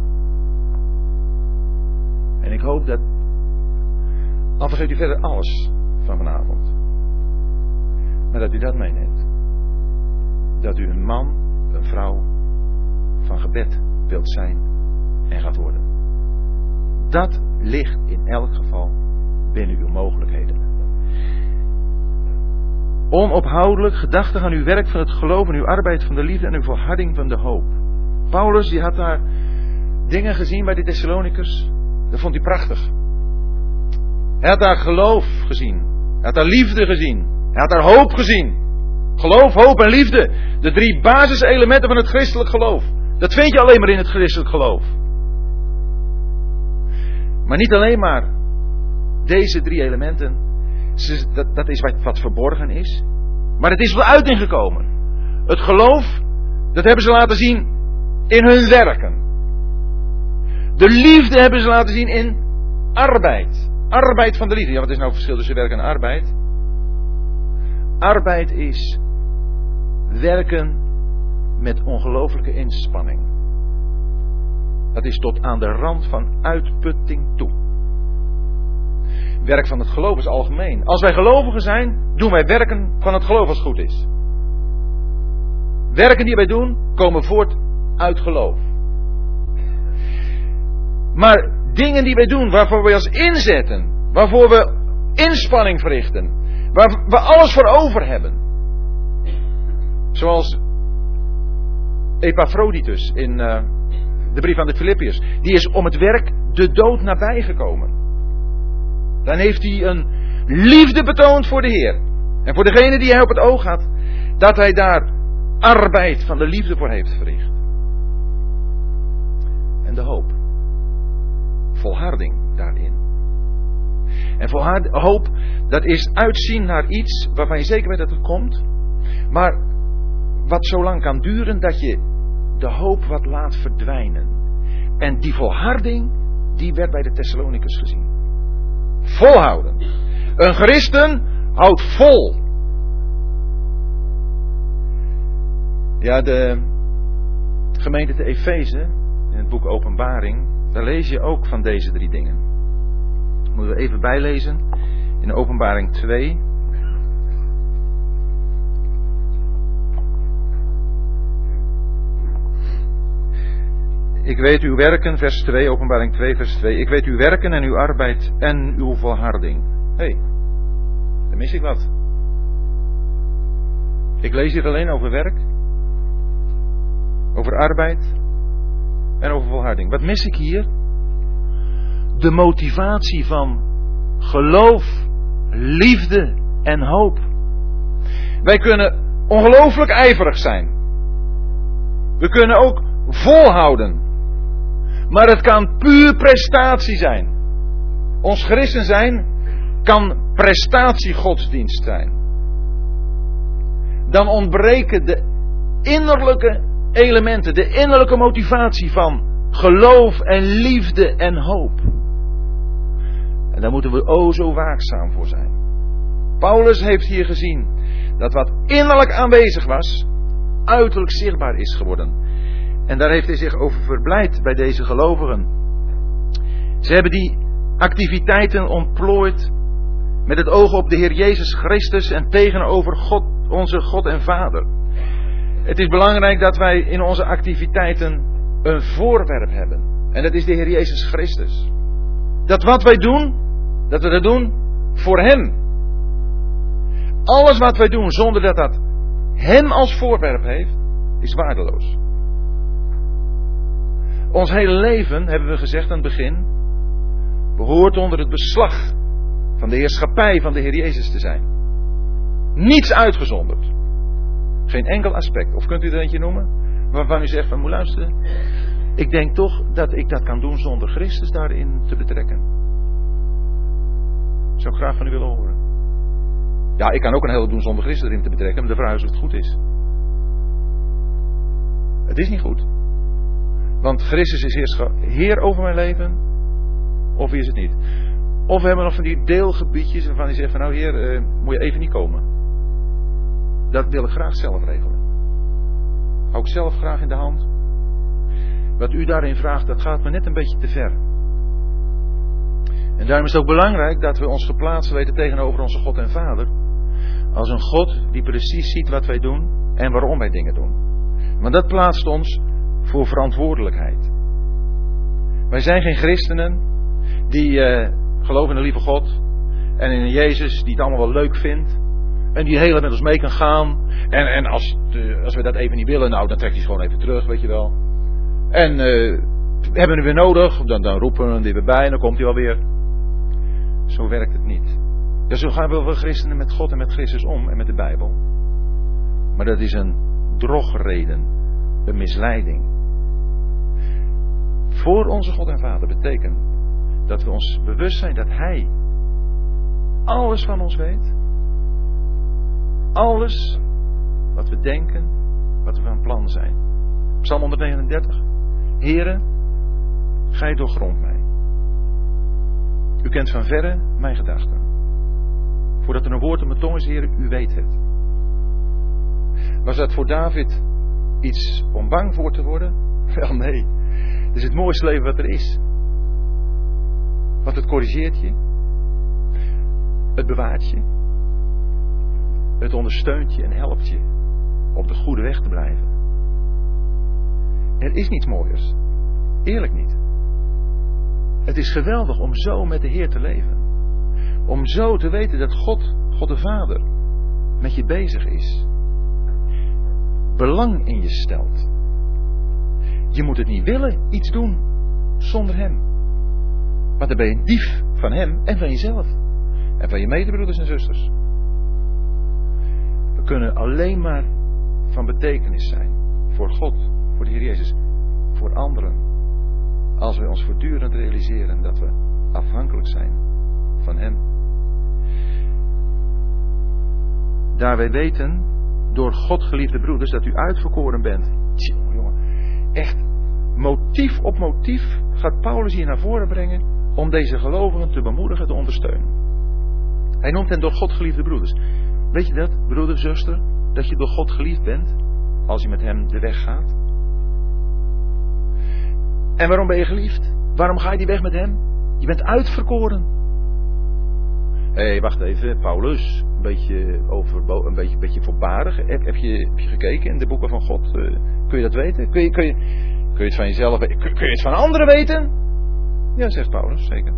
En ik hoop dat, al vergeet u verder alles van vanavond, maar dat u dat meeneemt. Dat u een man, een vrouw van gebed wilt zijn en gaat worden. Dat ligt in elk geval binnen uw mogelijkheden. Onophoudelijk gedachtig aan uw werk van het geloof en uw arbeid van de liefde en uw volharding van de hoop. Paulus die had daar dingen gezien bij de Thessalonikers. Dat vond hij prachtig. Hij had daar geloof gezien. Hij had daar liefde gezien. Hij had daar hoop gezien. Geloof, hoop en liefde. De drie basiselementen van het christelijk geloof. Dat vind je alleen maar in het christelijk geloof. Maar niet alleen maar deze drie elementen. Dat, dat is wat, wat verborgen is. Maar het is wel uiting gekomen. Het geloof, dat hebben ze laten zien in hun werken. De liefde hebben ze laten zien in arbeid. Arbeid van de liefde. Ja, wat is nou het verschil tussen werk en arbeid? Arbeid is werken met ongelooflijke inspanning. Dat is tot aan de rand van uitputting toe. Werk van het geloof is algemeen. Als wij gelovigen zijn, doen wij werken van het geloof als het goed is. Werken die wij doen, komen voort uit geloof. Maar dingen die wij doen, waarvoor we ons inzetten, waarvoor we inspanning verrichten, waar we alles voor over hebben. Zoals Epaphroditus in uh, de brief aan de Filippiërs. Die is om het werk de dood nabijgekomen. Dan heeft hij een liefde betoond voor de Heer. En voor degene die hij op het oog had, dat hij daar arbeid van de liefde voor heeft verricht. En de hoop. Volharding daarin. En volhard, hoop, dat is uitzien naar iets waarvan je zeker weet dat het komt. Maar wat zo lang kan duren dat je de hoop wat laat verdwijnen. En die volharding, die werd bij de Thessalonicus gezien. Volhouden. Een christen houdt vol. Ja, de gemeente te Efeze, in het boek Openbaring, daar lees je ook van deze drie dingen. Dat moeten we even bijlezen. In Openbaring twee. Ik weet uw werken, vers twee, Openbaring twee, vers twee. Ik weet uw werken en uw arbeid en uw volharding. Hé, hey, dan mis ik wat. Ik lees hier alleen over werk, over arbeid en over volharding. Wat mis ik hier? De motivatie van geloof, liefde en hoop. Wij kunnen ongelooflijk ijverig zijn. We kunnen ook volhouden. Maar het kan puur prestatie zijn. Ons christen zijn kan prestatiegodsdienst zijn. Dan ontbreken de innerlijke elementen, de innerlijke motivatie van geloof en liefde en hoop. En daar moeten we o zo waakzaam voor zijn. Paulus heeft hier gezien dat wat innerlijk aanwezig was, uiterlijk zichtbaar is geworden. En daar heeft hij zich over verblijd bij deze gelovigen. Ze hebben die activiteiten ontplooid met het oog op de Heer Jezus Christus en tegenover God, onze God en Vader. Het is belangrijk dat wij in onze activiteiten een voorwerp hebben. En dat is de Heer Jezus Christus. Dat wat wij doen, dat we dat doen voor Hem. Alles wat wij doen zonder dat dat Hem als voorwerp heeft, is waardeloos. Ons hele leven, hebben we gezegd aan het begin, behoort onder het beslag van de heerschappij van de Heer Jezus te zijn. Niets uitgezonderd. Geen enkel aspect. Of kunt u er eentje noemen? Waarvan u zegt van, moet luisteren. Ik denk toch dat ik dat kan doen zonder Christus daarin te betrekken. Zou ik graag van u willen horen. Ja, ik kan ook een hele doen zonder Christus erin te betrekken. Maar de vraag is of het goed is. Het is niet goed. Want Christus is Heer over mijn leven. Of is het niet? Of we hebben nog van die deelgebiedjes waarvan hij zegt van nou Heer, uh, moet je even niet komen. Dat wil ik graag zelf regelen. Hou ik zelf graag in de hand. Wat u daarin vraagt, dat gaat me net een beetje te ver. En daarom is het ook belangrijk dat we ons geplaatst weten tegenover onze God en Vader. Als een God die precies ziet wat wij doen en waarom wij dingen doen. Want dat plaatst ons voor verantwoordelijkheid. Wij zijn geen christenen die uh, geloven in de lieve God en in een Jezus die het allemaal wel leuk vindt en die heel erg met ons mee kan gaan. En, en als, uh, als we dat even niet willen, nou dan trekt hij gewoon even terug, weet je wel. En uh, hebben we hem weer nodig, dan, dan roepen we hem er weer bij en dan komt hij wel weer. Zo werkt het niet. Dus zo gaan we wel christenen met God en met Christus om en met de Bijbel. Maar dat is een drogreden, een misleiding. Voor onze God en Vader betekent dat we ons bewust zijn dat Hij alles van ons weet. Alles wat we denken, wat we van plan zijn. Psalm honderdnegenendertig. Heere, Gij doorgrondt mij. U kent van verre mijn gedachten. Voordat er een woord op mijn tong is, Heere, u weet het. Was dat voor David iets om bang voor te worden? Wel nee. Het is het mooiste leven wat er is. Want het corrigeert je. Het bewaart je. Het ondersteunt je en helpt je op de goede weg te blijven. Er is niets mooiers. Eerlijk niet. Het is geweldig om zo met de Heer te leven. Om zo te weten dat God, God de Vader, met je bezig is. Belang in je stelt. Je moet het niet willen, iets doen, zonder Hem. Want dan ben je een dief van Hem en van jezelf. En van je medebroeders en zusters. We kunnen alleen maar van betekenis zijn. Voor God, voor de Heer Jezus, voor anderen. Als we ons voortdurend realiseren dat we afhankelijk zijn van Hem. Daar wij weten, door God geliefde broeders, dat u uitverkoren bent. Tjonge, jongen, echt motief op motief gaat Paulus hier naar voren brengen om deze gelovigen te bemoedigen, te ondersteunen. Hij noemt hen door God geliefde broeders. Weet je dat, broeder, zuster, dat je door God geliefd bent als je met Hem de weg gaat? En waarom ben je geliefd? Waarom ga je die weg met Hem? Je bent uitverkoren. Hé, hey, wacht even, Paulus, een beetje, over, een beetje, een beetje voorbarig. Heb, heb, je, heb je gekeken in de boeken van God? Uh, kun je dat weten? Kun je, kun, je, kun je het van jezelf weten? Kun, kun je het van anderen weten? Ja, zegt Paulus, zeker.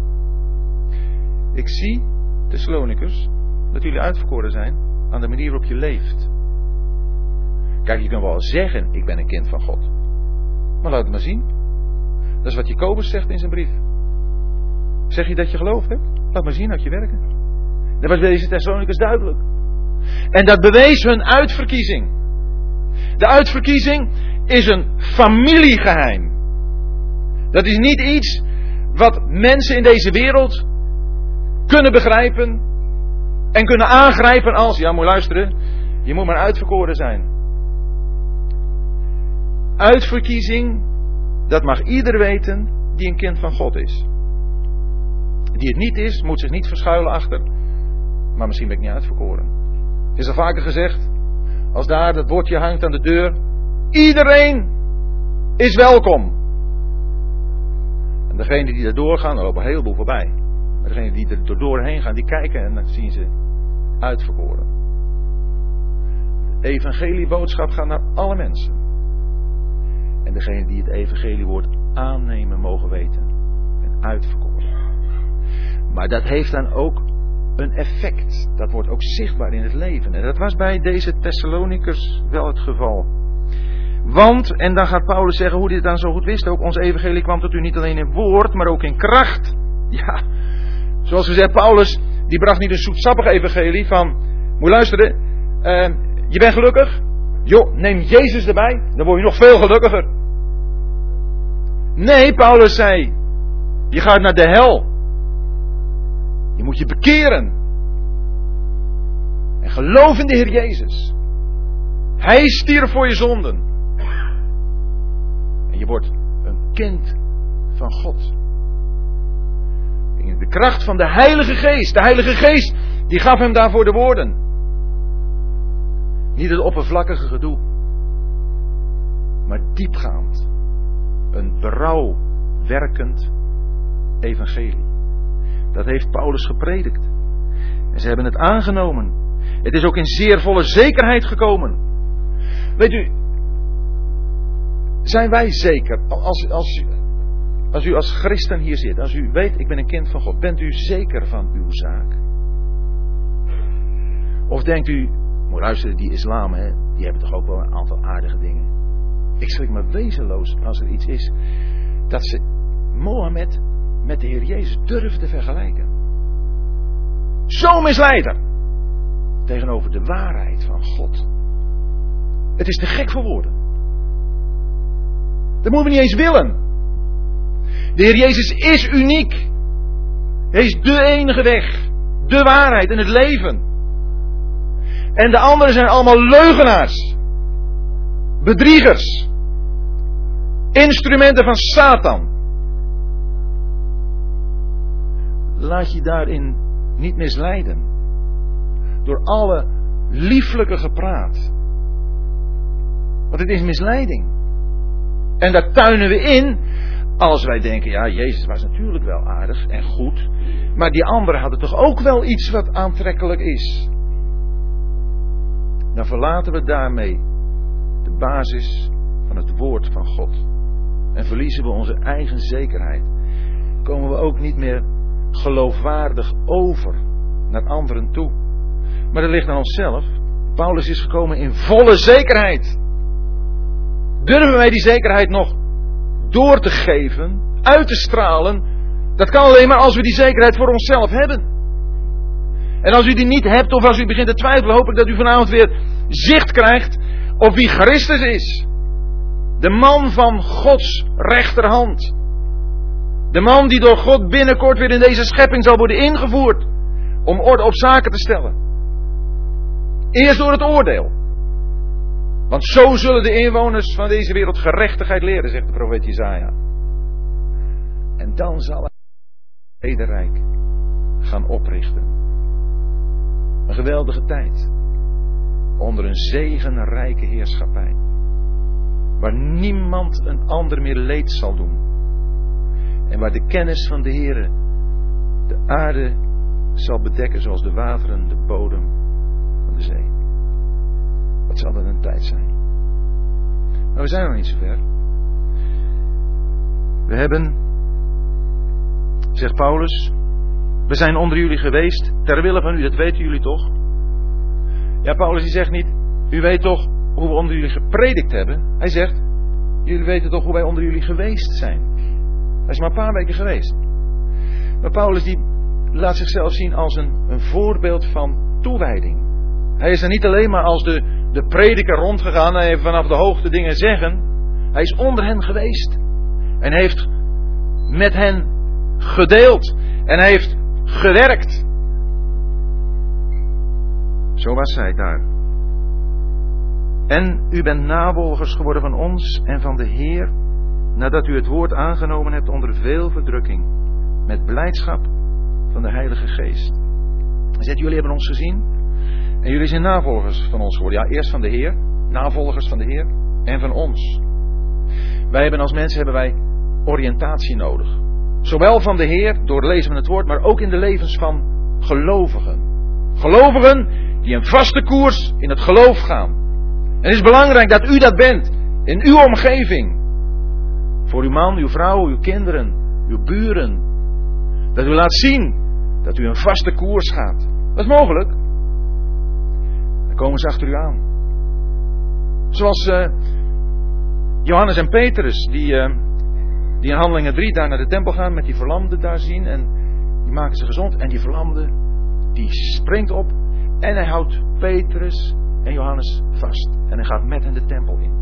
Ik zie, Thessalonicus, dat jullie uitverkoren zijn aan de manier waarop je leeft. Kijk, je kunt wel zeggen, ik ben een kind van God. Maar laat het maar zien. Dat is wat Jacobus zegt in zijn brief. Zeg je dat je geloof hebt? Laat maar zien uit je werken. Dat was bij deze Thessalonicus duidelijk. En dat bewees hun uitverkiezing. De uitverkiezing is een familiegeheim. Dat is niet iets wat mensen in deze wereld kunnen begrijpen en kunnen aangrijpen als, ja, moet je luisteren, je moet maar uitverkoren zijn. Uitverkiezing, dat mag ieder weten die een kind van God is. Die het niet is, moet zich niet verschuilen achter. Maar misschien ben ik niet uitverkoren. Het is al vaker gezegd, als daar dat bordje hangt aan de deur, iedereen is welkom. En degenen die er doorgaan, er lopen een heleboel voorbij. Maar degenen die er doorheen gaan, die kijken en dan zien ze uitverkoren. De evangelieboodschap gaat naar alle mensen. En degenen die het evangeliewoord aannemen mogen weten. En uitverkoren. Maar dat heeft dan ook een effect. Dat wordt ook zichtbaar in het leven. En dat was bij deze Thessalonicus wel het geval. Want, en dan gaat Paulus zeggen hoe hij het dan zo goed wist ook, ons evangelie kwam tot u niet alleen in woord, maar ook in kracht. Ja, zoals gezegd, Paulus, die bracht niet een zoetsappig evangelie van, moet je luisteren, uh, je bent gelukkig? Joh, neem Jezus erbij, dan word je nog veel gelukkiger. Nee, Paulus zei, je gaat naar de hel. Je moet je bekeren. En geloof in de Heer Jezus. Hij stierf voor je zonden. En je wordt een kind van God. In de kracht van de Heilige Geest. De Heilige Geest, die gaf hem daarvoor de woorden. Niet het oppervlakkige gedoe. Maar diepgaand. Een berouwwerkend evangelie. Dat heeft Paulus gepredikt. En ze hebben het aangenomen. Het is ook in zeer volle zekerheid gekomen. Weet u, zijn wij zeker, als, als, als u als christen hier zit, als u weet, ik ben een kind van God, bent u zeker van uw zaak? Of denkt u, moet luisteren, die islam, hè, die hebben toch ook wel een aantal aardige dingen. Ik schrik me wezenloos als er iets is dat ze Mohammed met de Heer Jezus durven te vergelijken. Zo misleider tegenover de waarheid van God. Het is te gek voor woorden. Dat moeten we niet eens willen. De Heer Jezus is uniek. Hij is de enige weg, de waarheid en het leven. En de anderen zijn allemaal leugenaars, bedriegers, instrumenten van Satan. Laat je daarin niet misleiden. Door alle lieflijke gepraat. Want het is misleiding. En daar tuinen we in Als wij denken, ja, Jezus was natuurlijk wel aardig en goed. Maar die anderen hadden toch ook wel iets wat aantrekkelijk is. Dan verlaten we daarmee de basis van het woord van God. En verliezen we onze eigen zekerheid. Komen we ook niet meer geloofwaardig over naar anderen toe. Maar dat ligt aan onszelf. Paulus is gekomen in volle zekerheid. Durven wij die zekerheid nog door te geven, uit te stralen? Dat kan alleen maar als we die zekerheid voor onszelf hebben. En als u die niet hebt, of als u begint te twijfelen, hoop ik dat u vanavond weer zicht krijgt op wie Christus is. De man van Gods rechterhand. De man die door God binnenkort weer in deze schepping zal worden ingevoerd. Om orde op zaken te stellen. Eerst door het oordeel. Want zo zullen de inwoners van deze wereld gerechtigheid leren, zegt de profeet Jesaja. En dan zal hij het Vrederijk gaan oprichten. Een geweldige tijd. Onder een zegenrijke heerschappij. Waar niemand een ander meer leed zal doen. En waar de kennis van de Heere de aarde zal bedekken zoals de wateren de bodem van de zee. Wat zal dat een tijd zijn? Maar we zijn nog niet zo ver. We hebben, zegt Paulus, we zijn onder jullie geweest, ter wille van u, dat weten jullie toch? Ja, Paulus die zegt niet, u weet toch hoe we onder jullie gepredikt hebben. Hij zegt, jullie weten toch hoe wij onder jullie geweest zijn. Hij is maar een paar weken geweest. Maar Paulus die laat zichzelf zien als een, een voorbeeld van toewijding. Hij is er niet alleen maar als de, de prediker rondgegaan en heeft vanaf de hoogte dingen zeggen. Hij is onder hen geweest. En heeft met hen gedeeld. En hij heeft gewerkt. Zo was hij daar. En u bent navolgers geworden van ons en van de Heer, nadat u het woord aangenomen hebt onder veel verdrukking, met blijdschap van de Heilige Geest. Hij zegt, jullie hebben ons gezien en jullie zijn navolgers van ons geworden. Ja, eerst van de Heer, navolgers van de Heer en van ons. Wij hebben als mensen hebben wij oriëntatie nodig. Zowel van de Heer, door het lezen van het woord, maar ook in de levens van gelovigen. Gelovigen die een vaste koers in het geloof gaan. En het is belangrijk dat u dat bent, in uw omgeving. Voor uw man, uw vrouw, uw kinderen, uw buren. Dat u laat zien dat u een vaste koers gaat. Dat is mogelijk. Dan komen ze achter u aan. Zoals uh, Johannes en Petrus, die, uh, die in Handelingen drie daar naar de tempel gaan, met die verlamden daar zien. En die maken ze gezond. En die verlamde, die springt op. En hij houdt Petrus en Johannes vast. En hij gaat met hen de tempel in.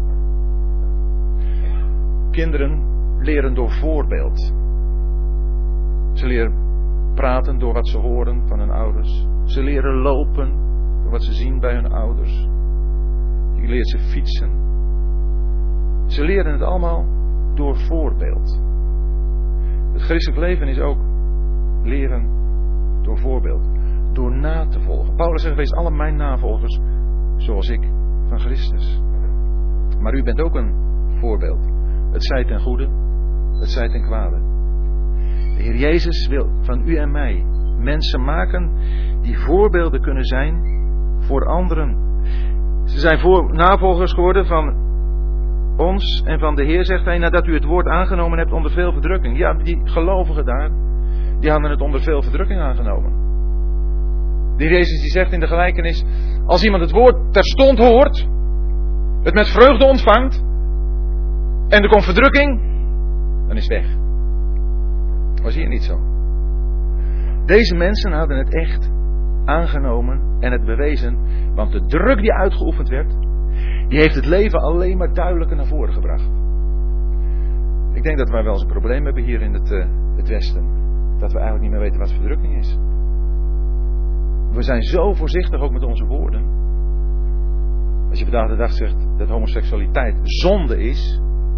Kinderen leren door voorbeeld. Ze leren praten door wat ze horen van hun ouders. Ze leren lopen door wat ze zien bij hun ouders. Je leert ze fietsen. Ze leren het allemaal door voorbeeld. Het christelijk leven is ook leren door voorbeeld. Door na te volgen. Paulus zegt, wees alle mijn navolgers zoals ik van Christus. Maar u bent ook een voorbeeld. Het zij ten goede, het zij ten kwade. De Heer Jezus wil van u en mij mensen maken die voorbeelden kunnen zijn voor anderen. Ze zijn voor, navolgers geworden van ons en van de Heer, zegt hij, nadat u het woord aangenomen hebt onder veel verdrukking. Ja, die gelovigen daar, die hadden het onder veel verdrukking aangenomen. De Heer Jezus die zegt in de gelijkenis, als iemand het woord terstond hoort, het met vreugde ontvangt, en er komt verdrukking, dan is het weg. Was hier niet zo. Deze mensen hadden het echt aangenomen en het bewezen, want de druk die uitgeoefend werd, die heeft het leven alleen maar duidelijker naar voren gebracht. Ik denk dat wij wel eens een probleem hebben hier in het, uh, het Westen. Dat we eigenlijk niet meer weten wat verdrukking is. We zijn zo voorzichtig ook met onze woorden. Als je vandaag de dag zegt dat homoseksualiteit zonde is,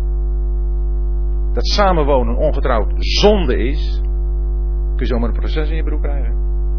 dat samenwonen ongetrouwd zonde is, kun je zomaar een proces in je broek krijgen.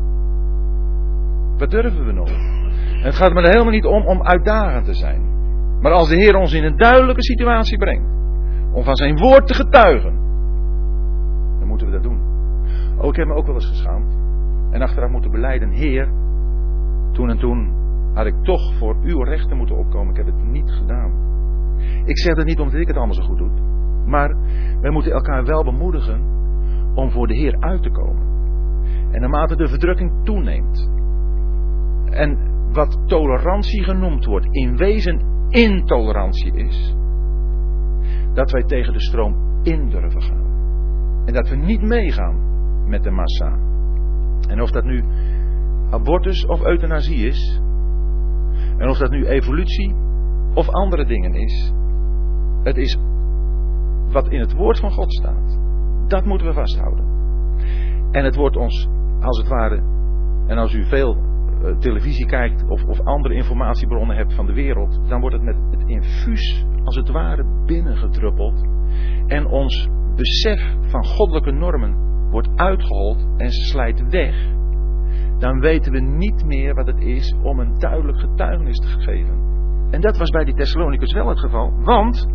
Wat durven we nog? En het gaat me er helemaal niet om om uitdagend te zijn. Maar als de Heer ons in een duidelijke situatie brengt, om van zijn woord te getuigen, dan moeten we dat doen. Oh, ik heb me ook wel eens geschaamd en achteraf moeten belijden, Heer, toen en toen had ik toch voor uw rechten moeten opkomen. Ik heb het niet gedaan. Ik zeg dat niet omdat ik het allemaal zo goed doe, maar wij moeten elkaar wel bemoedigen om voor de Heer uit te komen. En naarmate de verdrukking toeneemt en wat tolerantie genoemd wordt, in wezen intolerantie is, dat wij tegen de stroom in durven gaan. En dat we niet meegaan met de massa. En of dat nu abortus of euthanasie is, en of dat nu evolutie of andere dingen is, het is wat in het woord van God staat. Dat moeten we vasthouden. En het wordt ons, als het ware, en als u veel uh, televisie kijkt of, of andere informatiebronnen hebt van de wereld, dan wordt het met het infuus, als het ware, binnengedruppeld. En ons besef van goddelijke normen wordt uitgehold en slijt weg. Dan weten we niet meer wat het is om een duidelijk getuigenis te geven. En dat was bij die Thessalonicus wel het geval. Want,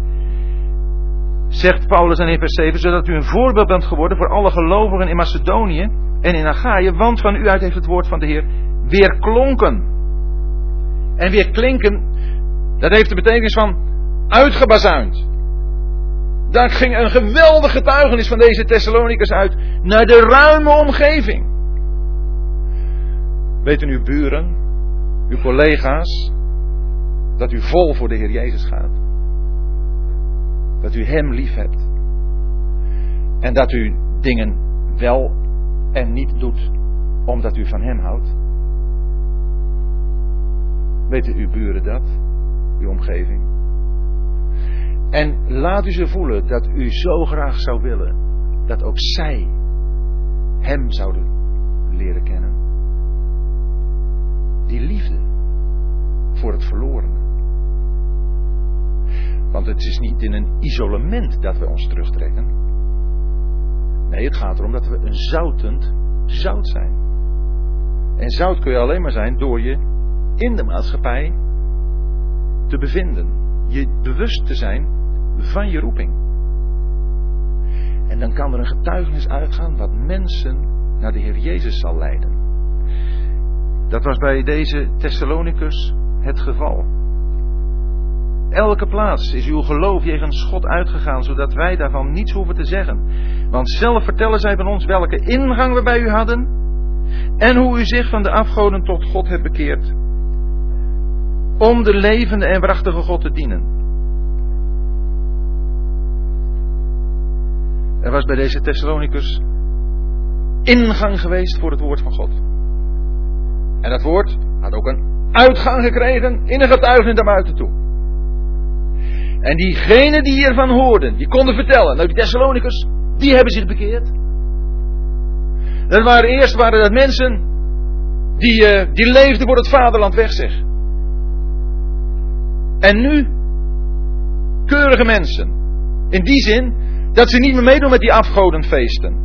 zegt Paulus dan in vers zeven, zodat u een voorbeeld bent geworden voor alle gelovigen in Macedonië en in Achaïe, want van u uit heeft het woord van de Heer weer klonken. En weer klinken, dat heeft de betekenis van uitgebazuind. Daar ging een geweldig getuigenis van deze Thessalonicus uit naar de ruime omgeving. Weten uw buren, uw collega's, dat u vol voor de Heer Jezus gaat? Dat u Hem lief hebt. En dat u dingen wel en niet doet omdat u van Hem houdt? Weten uw buren dat? Uw omgeving? En laat u ze voelen dat u zo graag zou willen dat ook zij Hem zouden leren kennen. Die liefde voor het verlorene. Want het is niet in een isolement dat we ons terugtrekken. Nee, het gaat erom dat we een zoutend zout zijn. En zout kun je alleen maar zijn door je in de maatschappij te bevinden. Je bewust te zijn van je roeping. En dan kan er een getuigenis uitgaan wat mensen naar de Heer Jezus zal leiden. Dat was bij deze Thessalonicus het geval. Elke plaats is uw geloof jegens God uitgegaan, zodat wij daarvan niets hoeven te zeggen. Want zelf vertellen zij van ons welke ingang we bij u hadden en hoe u zich van de afgoden tot God hebt bekeerd, om de levende en waarachtige God te dienen. Er was bij deze Thessalonicus ingang geweest voor het woord van God. En dat woord had ook een uitgang gekregen in een getuigenis naar buiten toe. En diegenen die hiervan hoorden, die konden vertellen, nou die Thessalonicus, die hebben zich bekeerd. Dat waren eerst waren dat mensen die, uh, die leefden voor het vaderland weg, zeg. En nu keurige mensen. In die zin dat ze niet meer meedoen met die afgodenfeesten.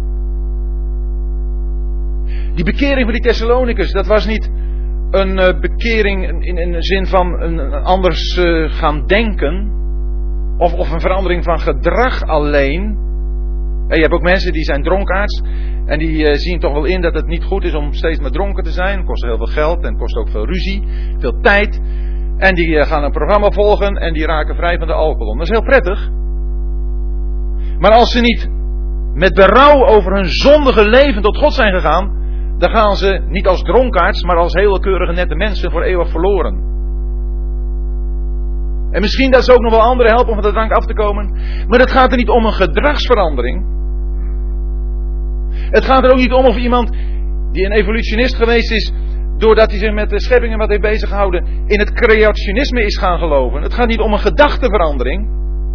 Die bekering van die Thessalonicus, dat was niet een uh, bekering in, in, in de zin van een, een anders uh, gaan denken. Of, of een verandering van gedrag alleen. En je hebt ook mensen die zijn dronkaards. En die uh, zien toch wel in dat het niet goed is om steeds maar dronken te zijn. Het kost heel veel geld en kost ook veel ruzie. Veel tijd. En die uh, gaan een programma volgen en die raken vrij van de alcohol. Dat is heel prettig. Maar als ze niet met berouw over hun zondige leven tot God zijn gegaan, dan gaan ze niet als dronkaards, maar als hele keurige nette mensen voor eeuwig verloren. En misschien dat ze ook nog wel anderen helpen om van de drank af te komen. Maar het gaat er niet om een gedragsverandering. Het gaat er ook niet om of iemand die een evolutionist geweest is, doordat hij zich met de schepping en wat heeft bezig gehouden, in het creationisme is gaan geloven. Het gaat niet om een gedachteverandering.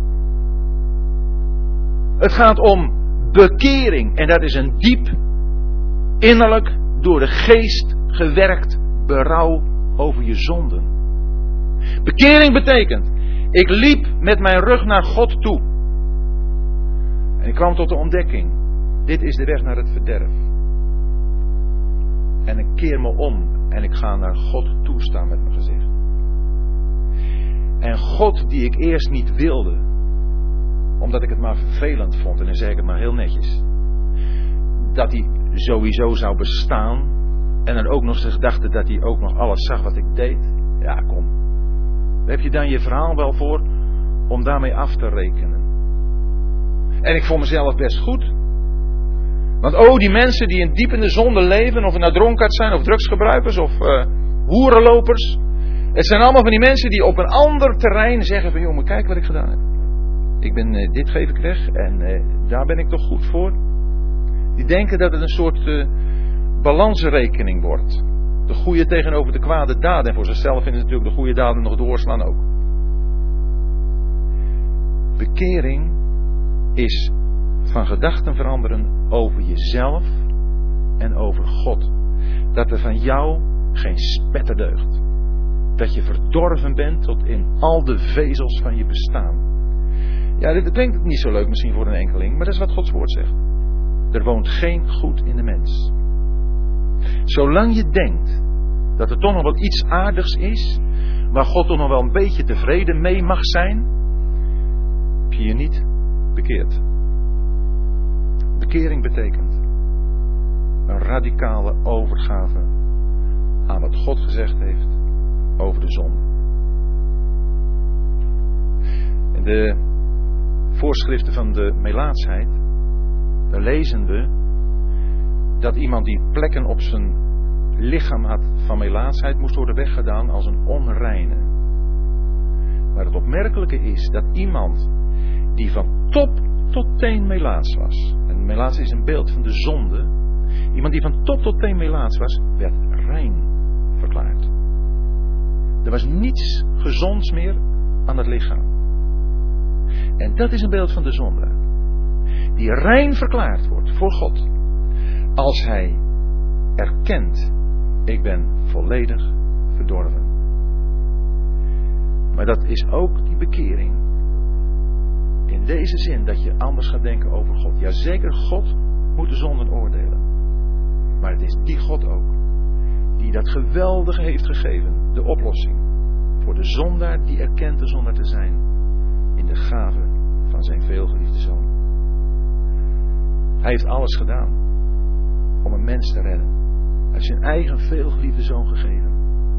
Het gaat om bekering. En dat is een diep, innerlijk, door de geest gewerkt berouw over je zonden. Bekering betekent, ik liep met mijn rug naar God toe. En ik kwam tot de ontdekking, dit is de weg naar het verderf. En ik keer me om en ik ga naar God toe staan met mijn gezicht. En God die ik eerst niet wilde, omdat ik het maar vervelend vond, en dan zeg ik het maar heel netjes, dat hij sowieso zou bestaan, en dan ook nog eens gedachte dat hij ook nog alles zag wat ik deed. Ja, kom. Daar heb je dan je verhaal wel voor om daarmee af te rekenen. En ik vond mezelf best goed. Want oh, die mensen die in diep in de zonde leven, of het nou dronkaard zijn, of drugsgebruikers, of uh, hoerenlopers. Het zijn allemaal van die mensen die op een ander terrein zeggen van, jongen, kijk wat ik gedaan heb. Ik ben, uh, dit geef ik weg en uh, daar ben ik toch goed voor. Die denken dat het een soort uh, balansrekening wordt. De goede tegenover de kwade daden. En voor zichzelf vinden ze natuurlijk de goede daden nog doorslaan ook. Bekering is van gedachten veranderen over jezelf en over God. Dat er van jou geen spetter deugt. Dat je verdorven bent tot in al de vezels van je bestaan. Ja, dit klinkt niet zo leuk misschien voor een enkeling, maar dat is wat Gods woord zegt. Er woont geen goed in de mens. Zolang je denkt dat er toch nog wel iets aardigs is, waar God toch nog wel een beetje tevreden mee mag zijn, heb je je niet bekeerd. Bekering betekent een radicale overgave aan wat God gezegd heeft over de zonde. In de voorschriften van de melaatsheid, daar lezen we dat iemand die plekken op zijn lichaam had van melaatsheid moest worden weggedaan als een onreine. Maar het opmerkelijke is dat iemand die van top tot teen melaats was, en melaats is een beeld van de zonde, iemand die van top tot teen melaats was, werd rein verklaard. Er was niets gezonds meer aan het lichaam. En dat is een beeld van de zonde. Die rein verklaard wordt voor God. Als hij erkent, ik ben volledig verdorven. Maar dat is ook die bekering. In deze zin dat je anders gaat denken over God. Jazeker, God moet de zonden oordelen. Maar het is die God ook die dat geweldige heeft gegeven. De oplossing voor de zondaar die erkent de zondaar te zijn. In de gave van zijn veelgeliefde zoon. Hij heeft alles gedaan om een mens te redden. Hij heeft zijn eigen veelgeliefde zoon gegeven.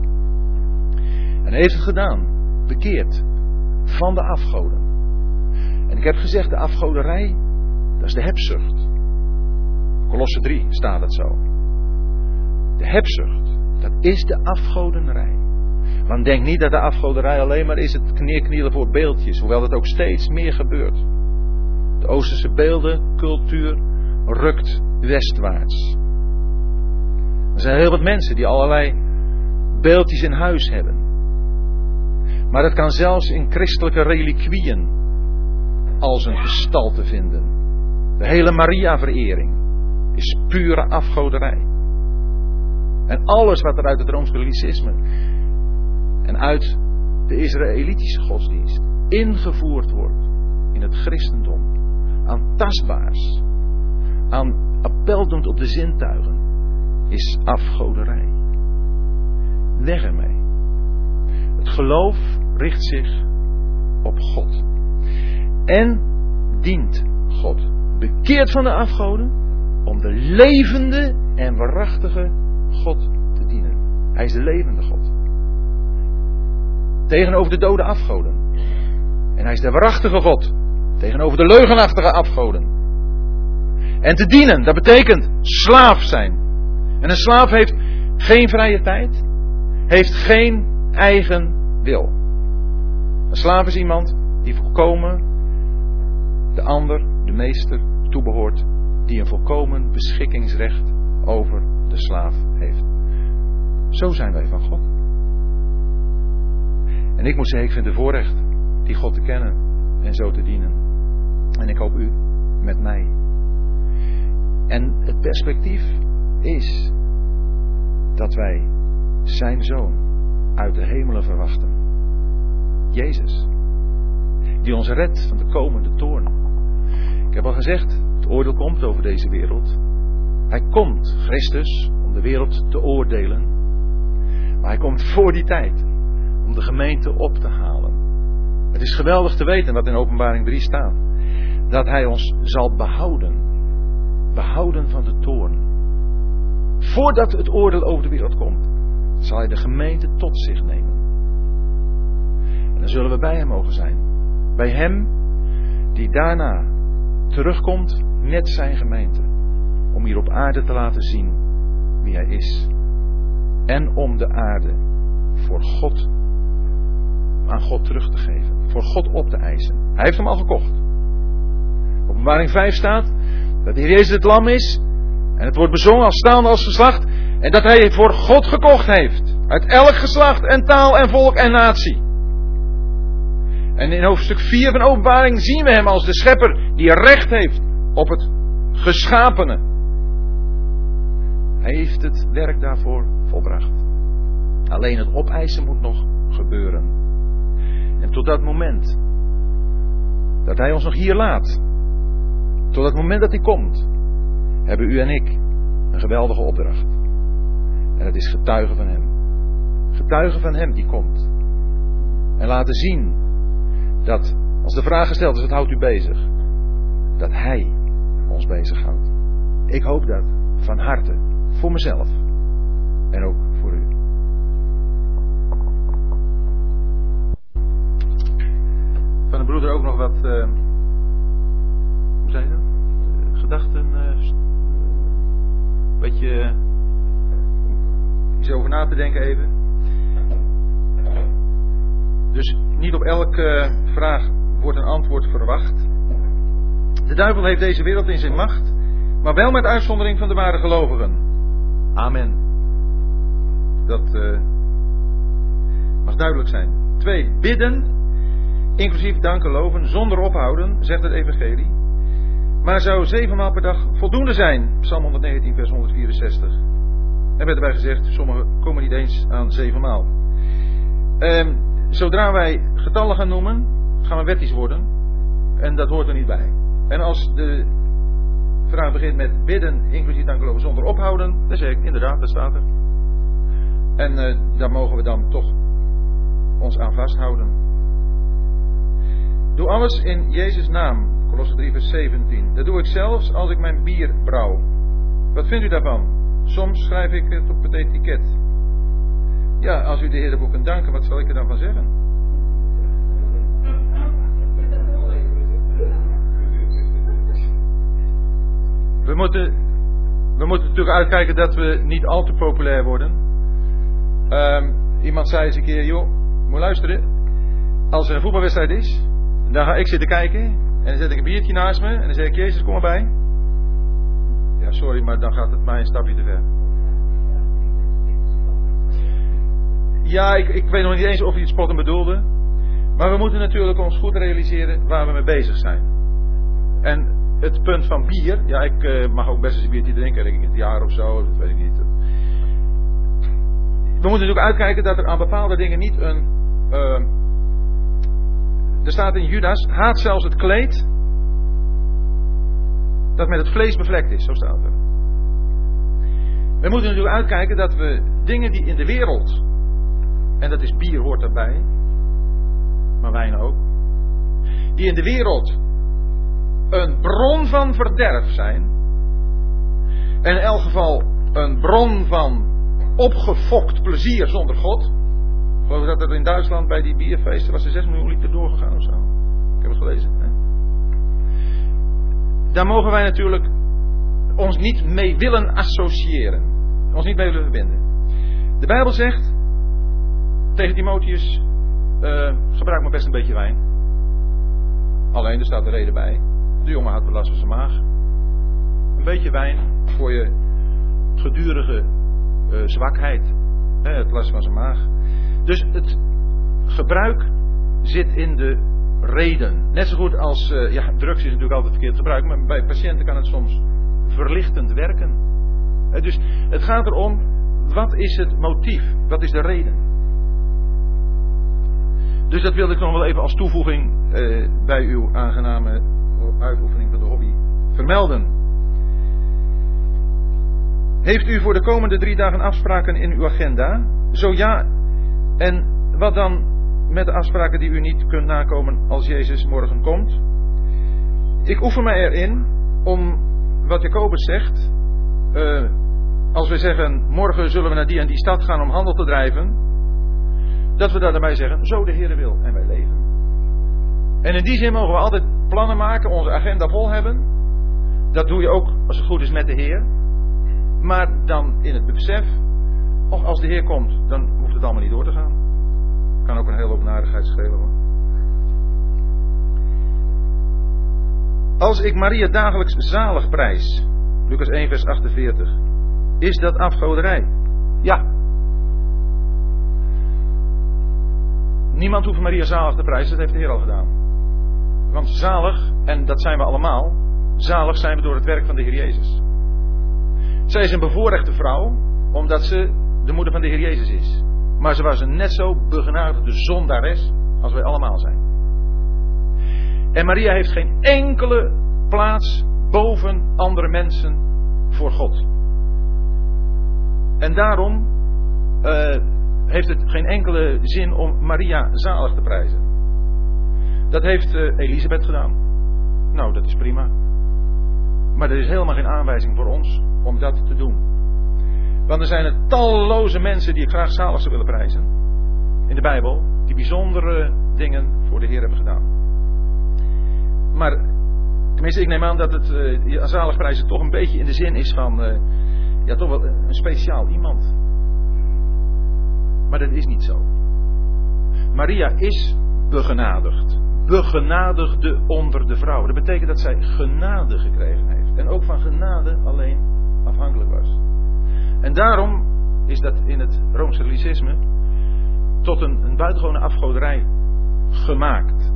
En hij heeft het gedaan, bekeerd van de afgoden. En ik heb gezegd, de afgoderij, dat is de hebzucht. Kolosse drie staat het zo. De hebzucht, dat is de afgoderij. Want denk niet dat de afgoderij alleen maar is het neerknielen voor beeldjes. Hoewel dat ook steeds meer gebeurt. De Oosterse beeldencultuur rukt westwaarts. Er zijn heel wat mensen die allerlei beeldjes in huis hebben. Maar dat kan zelfs in christelijke reliquieën als een gestalte vinden. De hele Maria-verering is pure afgoderij. En alles wat er uit het Rooms-Katholicisme en uit de Israëlitische godsdienst ingevoerd wordt in het christendom, aan tastbaars, aan appeldoend op de zintuigen, is afgoderij. Weg ermee. Het geloof richt zich op God. En dient God. Bekeerd van de afgoden om de levende en waarachtige God te dienen. Hij is de levende God. Tegenover de dode afgoden. En hij is de waarachtige God. Tegenover de leugenachtige afgoden. En te dienen, dat betekent slaaf zijn. En een slaaf heeft geen vrije tijd. Heeft geen eigen wil. Een slaaf is iemand die volkomen de ander, de meester, toebehoort. Die een volkomen beschikkingsrecht over de slaaf heeft. Zo zijn wij van God. En ik moet zeggen, ik vind het voorrecht die God te kennen en zo te dienen. En ik hoop u met mij. En het perspectief is dat wij zijn zoon uit de hemelen verwachten. Jezus. Die ons redt van de komende toorn. Ik heb al gezegd, het oordeel komt over deze wereld. Hij komt, Christus, om de wereld te oordelen. Maar hij komt voor die tijd om de gemeente op te halen. Het is geweldig te weten wat in Openbaring drie staat. dat hij ons zal behouden. Behouden van de toorn. Voordat het oordeel over de wereld komt, zal hij de gemeente tot zich nemen. En dan zullen we bij hem mogen zijn. Bij hem die daarna terugkomt met zijn gemeente. Om hier op aarde te laten zien wie hij is. En om de aarde voor God, aan God terug te geven. Voor God op te eisen. Hij heeft hem al gekocht. Openbaring vijf staat dat de Heer Jezus het lam is. En het wordt bezongen als staande als geslacht. En dat hij het voor God gekocht heeft. Uit elk geslacht en taal en volk en natie. En in hoofdstuk vier van Openbaring zien we hem als de schepper die recht heeft op het geschapene. Hij heeft het werk daarvoor volbracht. Alleen het opeisen moet nog gebeuren. En tot dat moment dat hij ons nog hier laat, tot dat moment dat hij komt, hebben u en ik een geweldige opdracht. En dat is getuigen van hem. Getuigen van hem die komt. En laten zien dat, als de vraag gesteld is, wat houdt u bezig? Dat hij ons bezighoudt. Ik hoop dat van harte. Voor mezelf. En ook voor u. Van de broeder ook nog wat, uh, hoe zei je dat? Uh, gedachten, uh, een beetje, uh, iets over na te denken even. Dus niet op elke vraag wordt een antwoord verwacht. De duivel heeft deze wereld in zijn macht, maar wel met uitzondering van de ware gelovigen. Amen. Dat uh, mag duidelijk zijn. Twee, bidden, inclusief danken, loven, zonder ophouden, zegt het evangelie. Maar zou zevenmaal per dag voldoende zijn? Psalm honderdnegentien, vers honderdvierenzestig. En werd erbij gezegd, sommigen komen niet eens aan zevenmaal. Um, zodra wij getallen gaan noemen, gaan we wettisch worden. En dat hoort er niet bij. En als de vraag begint met bidden, inclusief danken, zonder ophouden, dan zeg ik inderdaad, dat staat er. En uh, daar mogen we dan toch ons aan vasthouden. Doe alles in Jezus' naam, Kolosser drie vers zeventien. Dat doe ik zelfs als ik mijn bier brouw. Wat vindt u daarvan? Soms schrijf ik het op het etiket. Ja, als u de Heer ervoor kunt danken, wat zal ik er dan van zeggen? We moeten, we moeten natuurlijk uitkijken dat we niet al te populair worden. Um, iemand zei eens een keer, joh, moet luisteren. Als er een voetbalwedstrijd is, dan ga ik zitten kijken. En dan zet ik een biertje naast me. En dan zeg ik, Jezus, kom erbij. Ja, sorry, maar dan gaat het mij een stapje te ver. Ja, ik, ik weet nog niet eens of hij het spotten bedoelde. Maar we moeten natuurlijk ons goed realiseren waar we mee bezig zijn. En het punt van bier. Ja, ik uh, mag ook best eens een biertje drinken. Denk ik het jaar of zo, dat weet ik niet. We moeten natuurlijk uitkijken dat er aan bepaalde dingen niet een... Uh, er staat in Judas, haat zelfs het kleed dat met het vlees bevlekt is. Zo staat er. We moeten natuurlijk uitkijken dat we dingen die in de wereld, en dat is bier hoort daarbij, maar wijn ook, die in de wereld een bron van verderf zijn, en in elk geval een bron van opgefokt plezier zonder God. Ik geloof dat er in Duitsland bij die bierfeesten was er zes miljoen liter doorgegaan of zo. Ik heb het gelezen. Hè? Daar mogen wij natuurlijk ons niet mee willen associëren. Ons niet mee willen verbinden. De Bijbel zegt tegen Timotheus, uh, gebruik maar best een beetje wijn. Alleen, er staat de reden bij. De jongen had last van zijn maag. Een beetje wijn voor je gedurige uh, zwakheid. Hè, het last van zijn maag. Dus het gebruik zit in de reden. Net zo goed als, uh, ja, drugs is natuurlijk altijd verkeerd gebruik, maar bij patiënten kan het soms verlichtend werken. Uh, dus het gaat erom, wat is het motief? Wat is de reden? Dus dat wilde ik nog wel even als toevoeging uh, bij uw aangename uitoefening van de hobby vermelden. Heeft u voor de komende drie dagen afspraken in uw agenda? Zo ja. En wat dan met de afspraken die u niet kunt nakomen als Jezus morgen komt? Ik oefen mij erin om wat Jacobus zegt. Uh, als we zeggen, morgen zullen we naar die en die stad gaan om handel te drijven. Dat we daarbij zeggen, zo de Heere wil en wij leven. En in die zin mogen we altijd plannen maken, onze agenda vol hebben. Dat doe je ook als het goed is met de Heer. Maar dan in het besef, of als de Heer komt, dan hoeft het allemaal niet door te gaan. Kan ook een hele hoop narigheid schelen hoor. Als ik Maria dagelijks zalig prijs, Lucas één vers achtenveertig, is dat afgoderij? Ja. Niemand hoeft Maria zalig te prijzen, dat heeft de Heer al gedaan. Want zalig, en dat zijn we allemaal, zalig zijn we door het werk van de Heer Jezus. Zij is een bevoorrechte vrouw, omdat ze de moeder van de Heer Jezus is. Maar ze was een net zo begenadigde zondares als wij allemaal zijn. En Maria heeft geen enkele plaats boven andere mensen voor God. En daarom uh, heeft het geen enkele zin om Maria zalig te prijzen. Dat heeft uh, Elisabeth gedaan. Nou, dat is prima. Maar er is helemaal geen aanwijzing voor ons om dat te doen. Want er zijn er talloze mensen die ik graag zalig zou willen prijzen. In de Bijbel. Die bijzondere dingen voor de Heer hebben gedaan. Maar, tenminste ik neem aan dat het uh, zalig prijzen toch een beetje in de zin is van... Uh, ja, toch wel een speciaal iemand. Maar dat is niet zo. Maria is begenadigd. Begenadigde onder de vrouwen. Dat betekent dat zij genade gekregen heeft. En ook van genade alleen afhankelijk was. En daarom is dat in het Rooms-Katholicisme tot een, een buitengewone afgoderij gemaakt.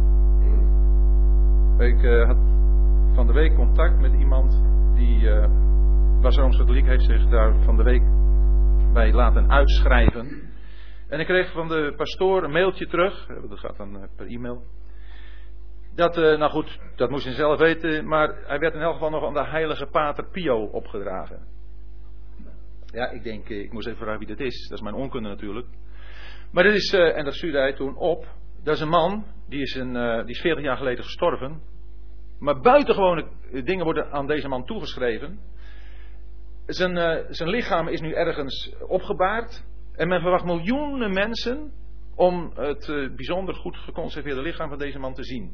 Ik uh, had van de week contact met iemand die uh, was Rooms-Katholiek, heeft zich daar van de week bij laten uitschrijven. En ik kreeg van de pastoor een mailtje terug, dat gaat dan uh, per e-mail. Dat, uh, nou goed, dat moest hij zelf weten, maar hij werd in elk geval nog aan de heilige pater Pio opgedragen. Ja, ik denk, uh, ik moest even vragen wie dat is, dat is mijn onkunde natuurlijk. Maar dit is, uh, en dat stuurde hij toen op, dat is een man, die is, een, uh, die is veertig jaar geleden gestorven. Maar buitengewone dingen worden aan deze man toegeschreven. Zijn, uh, zijn lichaam is nu ergens opgebaard. En men verwacht miljoenen mensen om het uh, bijzonder goed geconserveerde lichaam van deze man te zien.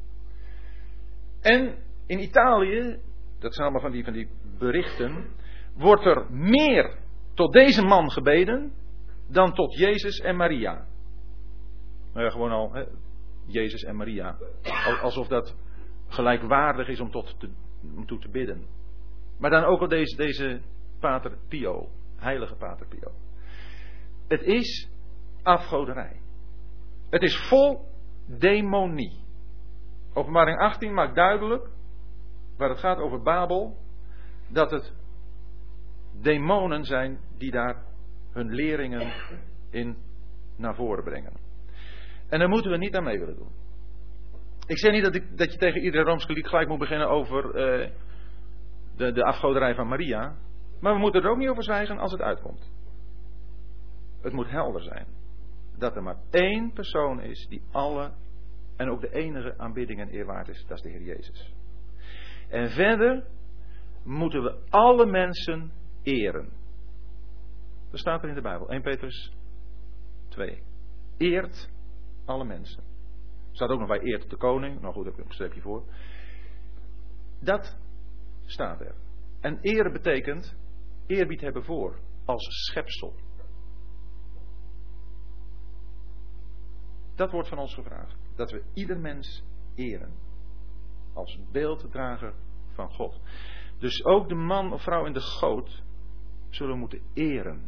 En in Italië, dat zijn allemaal van die, van die berichten, wordt er meer tot deze man gebeden dan tot Jezus en Maria. Nou ja, gewoon al, hè, Jezus en Maria. Alsof dat gelijkwaardig is om, tot te, om toe te bidden. Maar dan ook al deze, deze Pater Pio, heilige Pater Pio. Het is afgoderij. Het is vol demonie. Openbaring achttien maakt duidelijk, waar het gaat over Babel, dat het demonen zijn die daar hun leringen in naar voren brengen. En daar moeten we niet aan mee willen doen. Ik zeg niet dat, ik, dat je tegen iedere Rooms-Katholiek gelijk moet beginnen over uh, de, de afgoderij van Maria. Maar we moeten er ook niet over zwijgen als het uitkomt. Het moet helder zijn. Dat er maar één persoon is die alle en ook de enige aanbidding en eer waard is. Dat is de Heer Jezus. En verder moeten we alle mensen eren. Dat staat er in de Bijbel. Eerste Petrus twee. Eert alle mensen. Er staat ook nog bij eert de koning. Nou goed, daar heb ik een streepje voor. Dat staat er. En eren betekent eerbied hebben voor. Als schepsel. Dat wordt van ons gevraagd. Dat we ieder mens eren. Als beelddrager van God. Dus ook de man of vrouw in de goot zullen we moeten eren.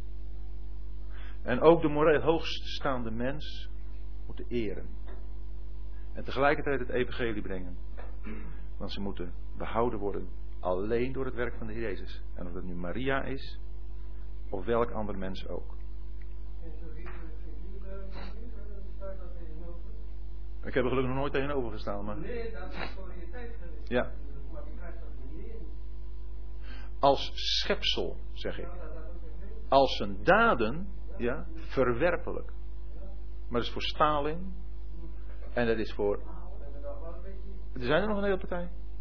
En ook de moreel hoogststaande mens moeten eren. En tegelijkertijd het evangelie brengen. Want ze moeten behouden worden alleen door het werk van de Heer Jezus. En of het nu Maria is, of welk ander mens ook. Ik heb er gelukkig nog nooit tegenover gestaan. Maar... Nee, dat is voor je tijd geweest. Ja. Maar die krijgt dat niet in. Als schepsel, zeg ik. Als zijn daden, ja, verwerpelijk. Maar dat is voor Stalin. En dat is voor... Er zijn er nog een hele partij.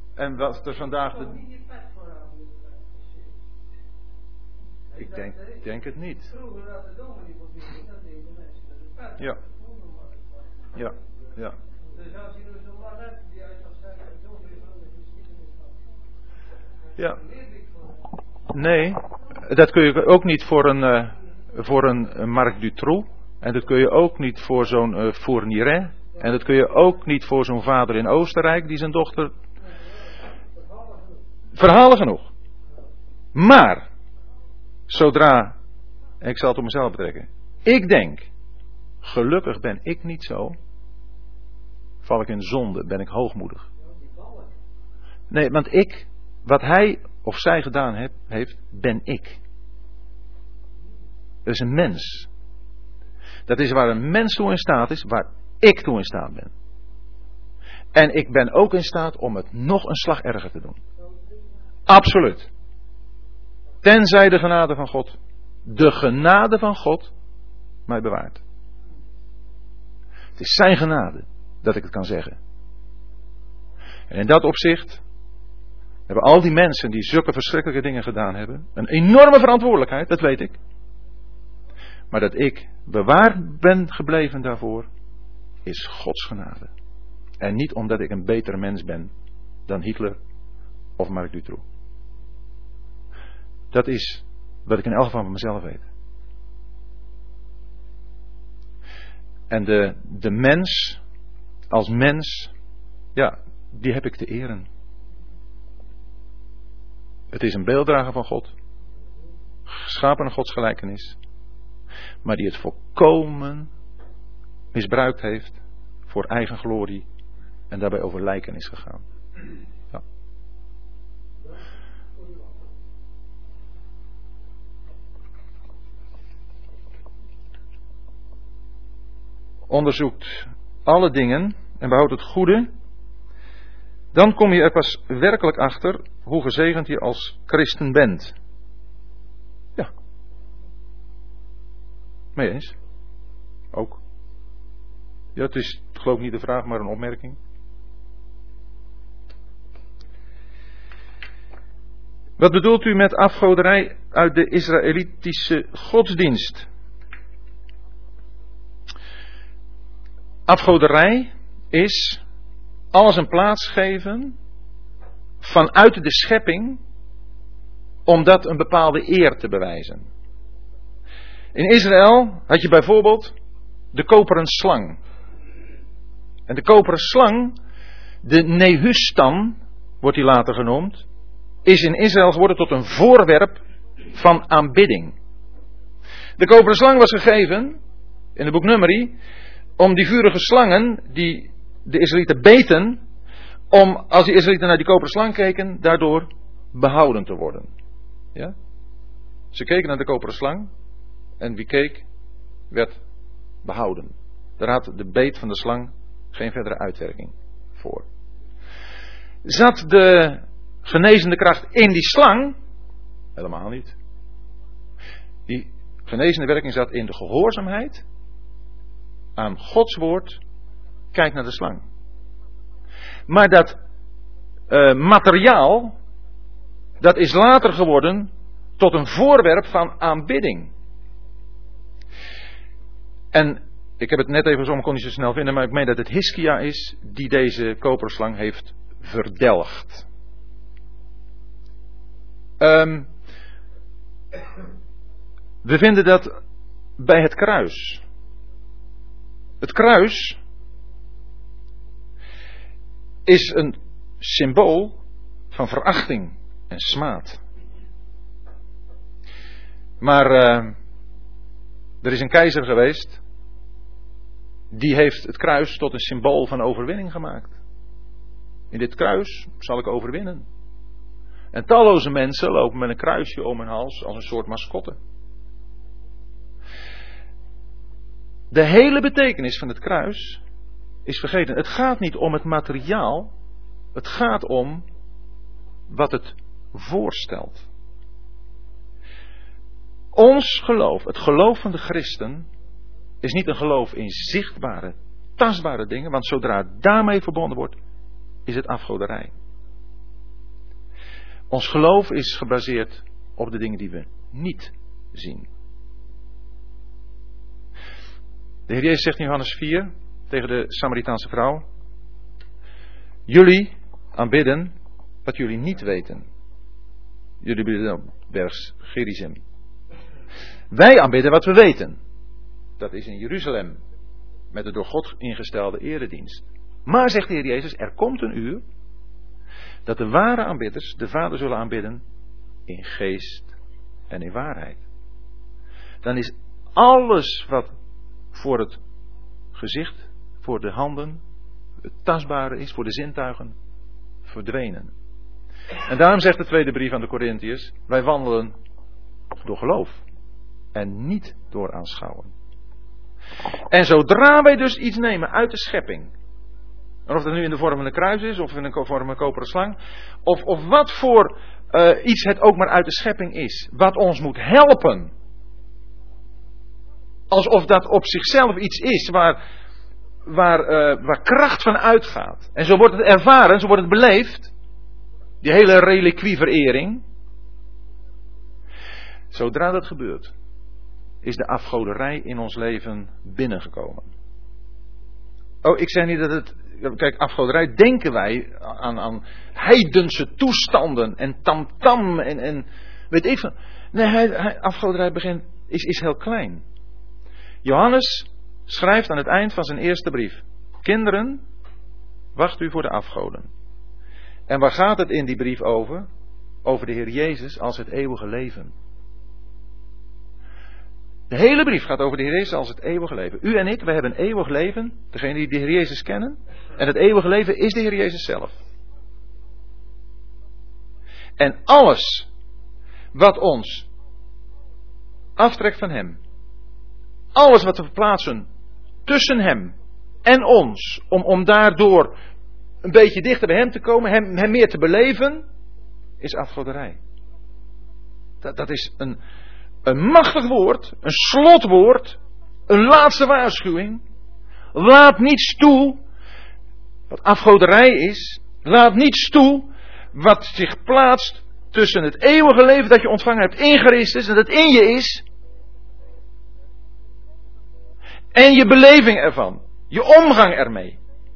En wat er vandaag de... Ik denk, denk het niet. Ja. Ja. Ja. Ja. Nee, dat kun je ook niet voor een, uh, voor een Marc Dutroux. En dat kun je ook niet voor zo'n uh, Fourniret. En dat kun je ook niet voor zo'n vader in Oostenrijk die zijn dochter... Verhalen genoeg. Maar, zodra, ik zal het op mezelf betrekken. Ik denk, gelukkig ben ik niet zo. Val ik in zonde, ben ik hoogmoedig. Nee, want ik, wat hij of zij gedaan heb, heeft, ben ik. Dat is een mens. Dat is waar een mens toe in staat is, waar ik toe in staat ben. En ik ben ook in staat om het nog een slag erger te doen. Absoluut. Tenzij de genade van God, de genade van God, mij bewaart. Het is zijn genade dat ik het kan zeggen. En in dat opzicht hebben al die mensen die zulke verschrikkelijke dingen gedaan hebben, een enorme verantwoordelijkheid, dat weet ik. Maar dat ik bewaard ben gebleven daarvoor, is Gods genade. En niet omdat ik een betere mens ben dan Hitler of Marc Dutroux. Dat is wat ik in elk geval van mezelf weet. En de, de mens, als mens, ja, die heb ik te eren. Het is een beelddrager van God, geschapen naar Gods gelijkenis, maar die het volkomen misbruikt heeft voor eigen glorie en daarbij over lijken is gegaan. Ja. Onderzoekt alle dingen en behoudt het goede, dan kom je er pas werkelijk achter hoe gezegend je als christen bent. Ja. Mee eens? Ook. Ja, het is geloof ik niet de vraag, maar een opmerking. Wat bedoelt u met afgoderij uit de Israëlitische godsdienst? Afgoderij is alles een plaats geven vanuit de schepping om dat een bepaalde eer te bewijzen. In Israël had je bijvoorbeeld de koperen slang. En de koperen slang, de Nehustan, wordt die later genoemd, is in Israël geworden tot een voorwerp van aanbidding. De koperen slang was gegeven, in het boek Numeri, om die vurige slangen die de Israëlieten beten, om als die Israëlieten naar die koperen slang keken, daardoor behouden te worden. Ja? Ze keken naar de koperen slang en wie keek, werd behouden. Daar had de beet van de slang geen verdere uitwerking voor. Zat de genezende kracht in die slang? Helemaal niet. Die genezende werking zat in de gehoorzaamheid aan Gods woord. Kijk naar de slang. Maar dat uh, materiaal, dat is later geworden tot een voorwerp van aanbidding. En ik heb het net even zo, ik kon niet zo snel vinden, maar ik meen dat het Hiskia is die deze koperen slang heeft verdelgd. Um, we vinden dat bij het kruis. Het kruis is een symbool van verachting en smaad. Maar uh, er is een keizer geweest, die heeft het kruis tot een symbool van overwinning gemaakt. In dit kruis zal ik overwinnen. En talloze mensen lopen met een kruisje om hun hals als een soort mascotte. De hele betekenis van het kruis is vergeten. Het gaat niet om het materiaal. Het gaat om wat het voorstelt. Ons geloof, het geloof van de christen, is niet een geloof in zichtbare, tastbare dingen. Want zodra het daarmee verbonden wordt, is het afgoderij. Ons geloof is gebaseerd op de dingen die we niet zien. De Heer Jezus zegt in Johannes vier tegen de Samaritaanse vrouw: jullie aanbidden wat jullie niet weten. Jullie bidden op berg Gerizim. Wij aanbidden wat we weten. Dat is in Jeruzalem, met de door God ingestelde eredienst. Maar, zegt de Heer Jezus, er komt een uur dat de ware aanbidders de Vader zullen aanbidden in geest en in waarheid. Dan is alles wat voor het gezicht, voor de handen, het tastbare is, voor de zintuigen, verdwenen. En daarom zegt de tweede brief aan de Korintiërs: wij wandelen door geloof en niet door aanschouwen. En zodra wij dus iets nemen uit de schepping, en of dat nu in de vorm van een kruis is, of in de vorm van een koperen slang, of, of wat voor uh, iets het ook maar uit de schepping is, wat ons moet helpen, alsof dat op zichzelf iets is waar, waar, uh, waar kracht van uitgaat. En zo wordt het ervaren, zo wordt het beleefd, die hele reliquieverering. Zodra dat gebeurt, is de afgoderij in ons leven binnengekomen. Oh, ik zeg niet dat het... Kijk, afgoderij, denken wij aan, aan heidense toestanden en tamtam en, en weet ik veel. Nee, hij, hij, afgoderij begint, is, is heel klein. Johannes schrijft aan het eind van zijn eerste brief: kinderen, wacht u voor de afgoden. En waar gaat het in die brief over? Over de Heer Jezus als het eeuwige leven. De hele brief gaat over de Heer Jezus als het eeuwige leven. U en ik, wij hebben een eeuwig leven. Degenen die de Heer Jezus kennen. En het eeuwige leven is de Heer Jezus zelf. En alles wat ons aftrekt van Hem. Alles wat we verplaatsen tussen Hem en ons. Om, om daardoor een beetje dichter bij Hem te komen. Hem, hem meer te beleven. Is afgoderij. Dat, dat is een... Een machtig woord, een slotwoord, een laatste waarschuwing. Laat niets toe wat afgoderij is. Laat niets toe wat zich plaatst tussen het eeuwige leven dat je ontvangen hebt in Christus en dat in je is. En je beleving ervan, je omgang ermee.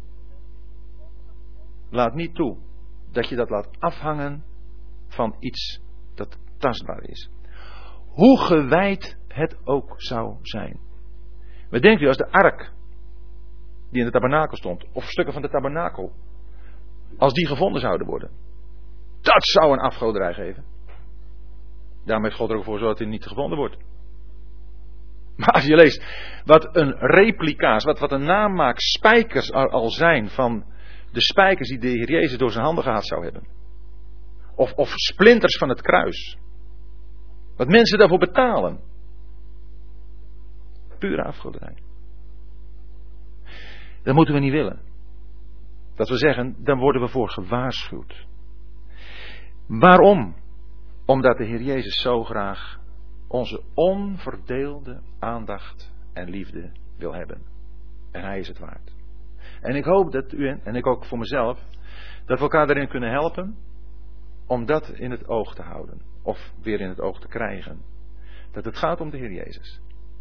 Laat niet toe dat je dat laat afhangen van iets dat tastbaar is. Hoe gewijd het ook zou zijn. Wat denkt u als de ark die in de tabernakel stond, of stukken van de tabernakel, als die gevonden zouden worden? Dat zou een afgoderij geven. Daarom heeft God er ook voor gezorgd dat hij niet gevonden wordt. Maar als je leest wat een replica's, wat, wat een namaak spijkers al, al zijn van de spijkers die de Heer Jezus door zijn handen gehad zou hebben. Of, of splinters van het kruis. Wat mensen daarvoor betalen. Pure afgoderij. Dat moeten we niet willen. Dat we zeggen, dan worden we voor gewaarschuwd. Waarom? Omdat de Heer Jezus zo graag onze onverdeelde aandacht en liefde wil hebben. En Hij is het waard. En ik hoop dat u en ik ook voor mezelf, dat we elkaar daarin kunnen helpen om dat in het oog te houden. Of weer in het oog te krijgen. Dat het gaat om de Heer Jezus.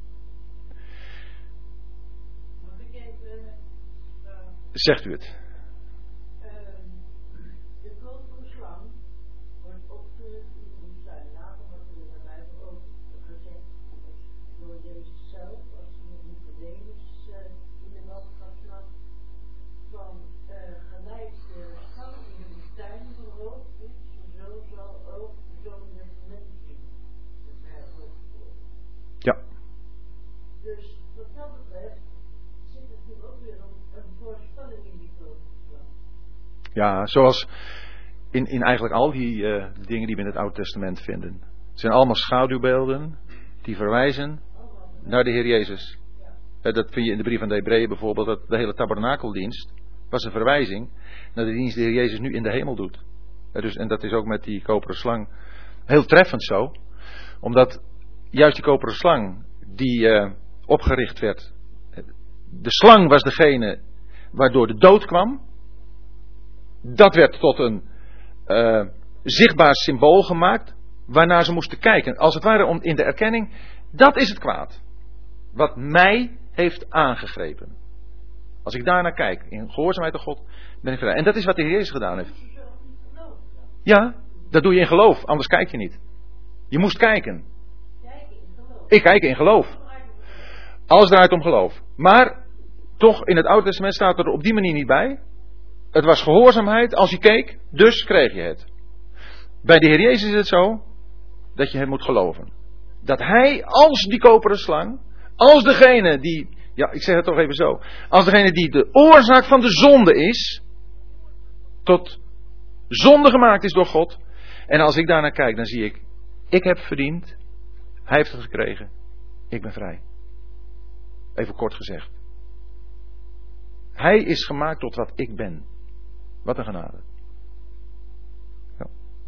Mag ik even, uh, Zegt u het. Uh, de koperen slang wordt opgerukt in de woestijn. Later wordt er daarbij ook gezegd door Jezus zelf, als hij met Nicodemus uh, in de landschap van uh, gelijk de slang in de woestijn verhoogd is, zo zal ook de zoon des mensen verhoogd worden. Ja. Dus wat dat betreft zit het nu ook weer een, een voorspelling in die koperen slang. Ja, zoals in, in eigenlijk al die uh, dingen die we in het Oude Testament vinden. Het zijn allemaal schaduwbeelden die verwijzen naar de Heer Jezus. Ja. Dat vind je in de brief aan de Hebreeën bijvoorbeeld. Dat de hele tabernakeldienst was een verwijzing naar de dienst die de Heer Jezus nu in de hemel doet. Ja, dus, en dat is ook met die koperen slang heel treffend zo. Omdat juist die koperen slang die uh, opgericht werd. De slang was degene waardoor de dood kwam. Dat werd tot een uh, zichtbaar symbool gemaakt waarnaar ze moesten kijken. Als het ware om in de erkenning, dat is het kwaad. Wat mij heeft aangegrepen. Als ik daarnaar kijk, in gehoorzaamheid aan God, ben ik vrij. En dat is wat de Heer Jezus gedaan heeft. Ja, dat doe je in geloof, anders kijk je niet. Je moest kijken. Ik kijk in geloof. Alles draait om geloof. Maar toch, in het Oude Testament staat er op die manier niet bij. Het was gehoorzaamheid als je keek, dus kreeg je het. Bij de Heer Jezus is het zo dat je het moet geloven. Dat Hij als die koperen slang, als degene die, ja ik zeg het toch even zo, als degene die de oorzaak van de zonde is, tot zonde gemaakt is door God. En als ik daarnaar kijk, dan zie ik, ik heb verdiend, Hij heeft het gekregen, ik ben vrij. Even kort gezegd. Hij is gemaakt tot wat ik ben. Wat een genade. Ja.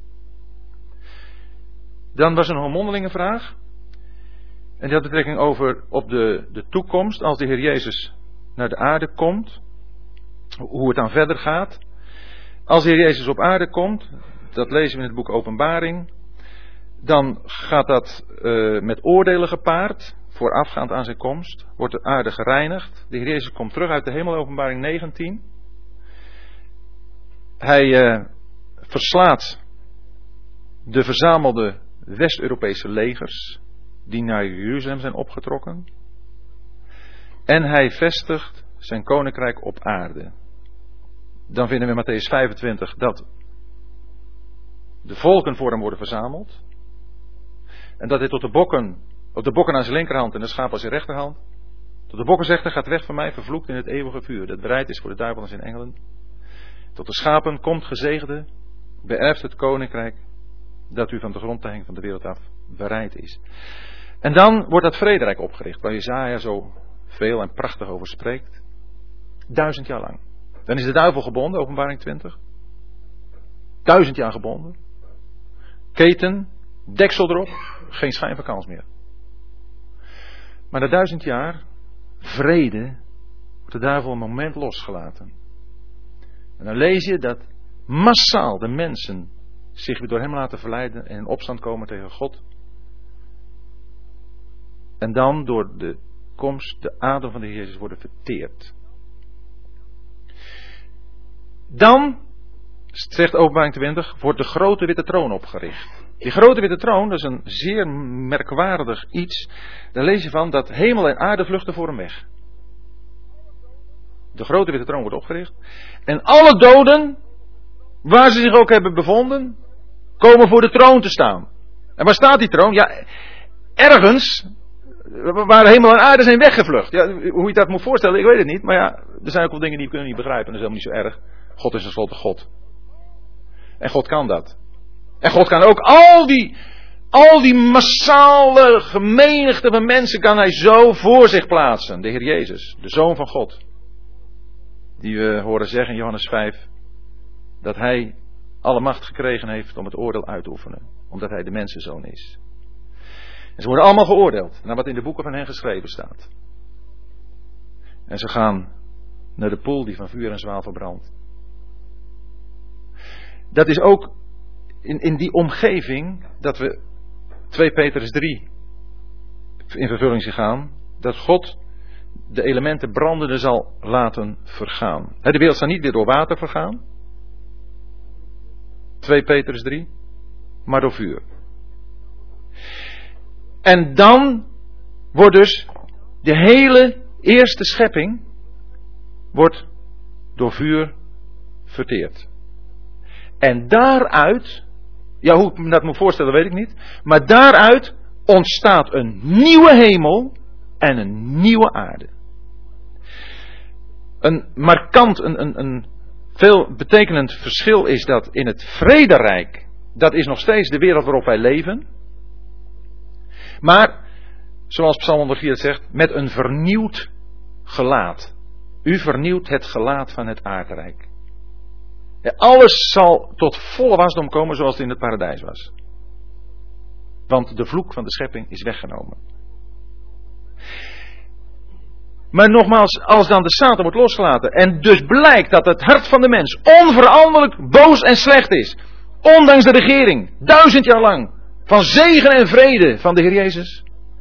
Dan was er nog een mondelinge vraag. En die had betrekking over op de, de toekomst. Als de Heer Jezus naar de aarde komt. Hoe het dan verder gaat. Als de Heer Jezus op aarde komt. Dat lezen we in het boek Openbaring. Dan gaat dat uh, met oordelen gepaard. Voorafgaand aan zijn komst. Wordt de aarde gereinigd. De Heer Jezus komt terug uit de hemel. Openbaring negentien. Hij uh, verslaat de verzamelde West-Europese legers die naar Jeruzalem zijn opgetrokken. En hij vestigt zijn koninkrijk op aarde. Dan vinden we in Mattheüs vijfentwintig dat de volken voor hem worden verzameld. En dat hij tot de bokken, op de bokken aan zijn linkerhand en de schapen aan zijn rechterhand. Tot de bokken zegt, hij gaat weg van mij, vervloekt in het eeuwige vuur. Dat bereid is voor de duivel en zijn engelen. Tot de schapen komt gezegende, beërft het koninkrijk dat u van de grondlegging van de wereld af bereid is. En dan wordt dat vrederijk opgericht, waar Jesaja zo veel en prachtig over spreekt. Duizend jaar lang. Dan is de duivel gebonden, Openbaring twintig. Duizend jaar gebonden. Keten, deksel erop, geen schijn van kans meer. Maar na duizend jaar, vrede, wordt de duivel een moment losgelaten. En dan lees je dat massaal de mensen zich weer door hem laten verleiden en in opstand komen tegen God. En dan door de komst, de adem van de Heer Jezus worden verteerd. Dan, zegt Openbaring twintig, wordt de grote witte troon opgericht. Die grote witte troon, dat is een zeer merkwaardig iets. Daar lees je van dat hemel en aarde vluchten voor hem weg. De grote witte troon wordt opgericht. En alle doden, waar ze zich ook hebben bevonden, komen voor de troon te staan. En waar staat die troon? Ja, ergens waar hemel en aarde zijn weggevlucht. Ja, hoe je dat moet voorstellen, ik weet het niet. Maar ja, er zijn ook wel dingen die we kunnen niet begrijpen. Dat is helemaal niet zo erg. God is tenslotte God. En God kan dat. En God kan ook al die, al die massale gemenigte van mensen kan hij zo voor zich plaatsen. De Heer Jezus, de Zoon van God. Die we horen zeggen in Johannes vijf. Dat hij alle macht gekregen heeft om het oordeel uit te oefenen. Omdat hij de mensenzoon is. En ze worden allemaal geoordeeld. Naar wat in de boeken van hen geschreven staat. En ze gaan naar de poel die van vuur en zwavel verbrandt. Dat is ook in, in die omgeving dat we twee Petrus drie in vervulling zien gaan. Dat God de elementen brandende zal laten vergaan. De wereld zal niet weer door water vergaan. twee Petrus drie. Maar door vuur. En dan wordt dus de hele eerste schepping wordt door vuur verteerd. En daaruit, ja hoe ik me dat moet voorstellen weet ik niet, maar daaruit ontstaat een nieuwe hemel en een nieuwe aarde. Een markant, een, een, een veel betekenend verschil is dat in het vrederijk, dat is nog steeds de wereld waarop wij leven. Maar, zoals Psalm honderdvier het zegt, met een vernieuwd gelaat. U vernieuwt het gelaat van het aardrijk. Ja, alles zal tot volle wasdom komen zoals het in het paradijs was. Want de vloek van de schepping is weggenomen. Maar nogmaals, als dan de Satan wordt losgelaten en dus blijkt dat het hart van de mens onveranderlijk boos en slecht is. Ondanks de regering, duizend jaar lang, van zegen en vrede van de Heer Jezus.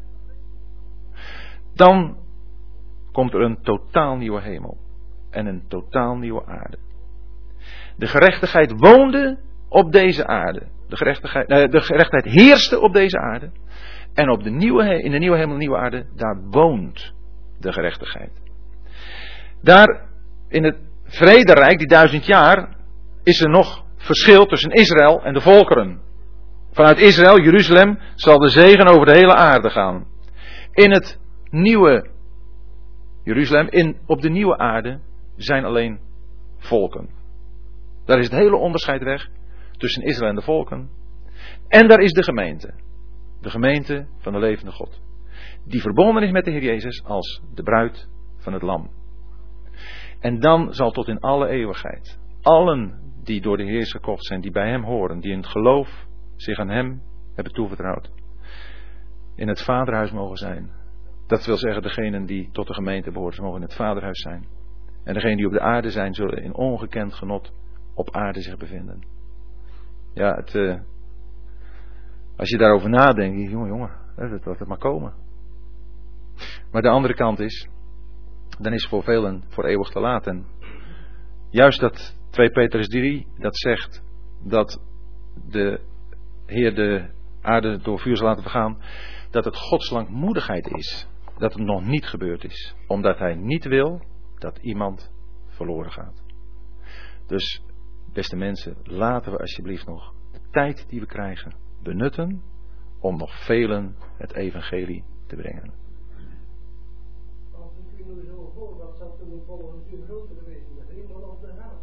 Dan komt er een totaal nieuwe hemel en een totaal nieuwe aarde. De gerechtigheid woonde op deze aarde. De gerechtigheid, eh, de gerechtigheid heerste op deze aarde. En op de nieuwe, in de nieuwe hemel en nieuwe aarde, daar woont de gerechtigheid. Daar in het vrederijk, die duizend jaar, is er nog verschil tussen Israël en de volkeren. Vanuit Israël, Jeruzalem, zal de zegen over de hele aarde gaan. In het nieuwe Jeruzalem, in, op de nieuwe aarde, zijn alleen volken. Daar is het hele onderscheid weg tussen Israël en de volken. En daar is de gemeente. De gemeente van de levende God. Die verbonden is met de Heer Jezus als de bruid van het lam. En dan zal tot in alle eeuwigheid allen die door de Heer Jezus gekocht zijn, die bij hem horen, die in het geloof zich aan hem hebben toevertrouwd, in het vaderhuis mogen zijn. Dat wil zeggen, degenen die tot de gemeente behoren, ze mogen in het vaderhuis zijn. En degenen die op de aarde zijn, zullen in ongekend genot op aarde zich bevinden. Ja, het, uh, als je daarover nadenkt, denk je, jongen, jongen, dat laat het maar komen. Maar de andere kant is, dan is voor velen voor eeuwig te laat. En juist dat twee Petrus drie, dat zegt dat de Heer de aarde door vuur zal laten vergaan, dat het Gods langmoedigheid is, dat het nog niet gebeurd is. Omdat Hij niet wil dat iemand verloren gaat. Dus, beste mensen, laten we alsjeblieft nog de tijd die we krijgen benutten om nog velen het evangelie te brengen. Als ik u nu zo voor, dat zou toen volgend uur groter geweest zijn. De hemel of de hel.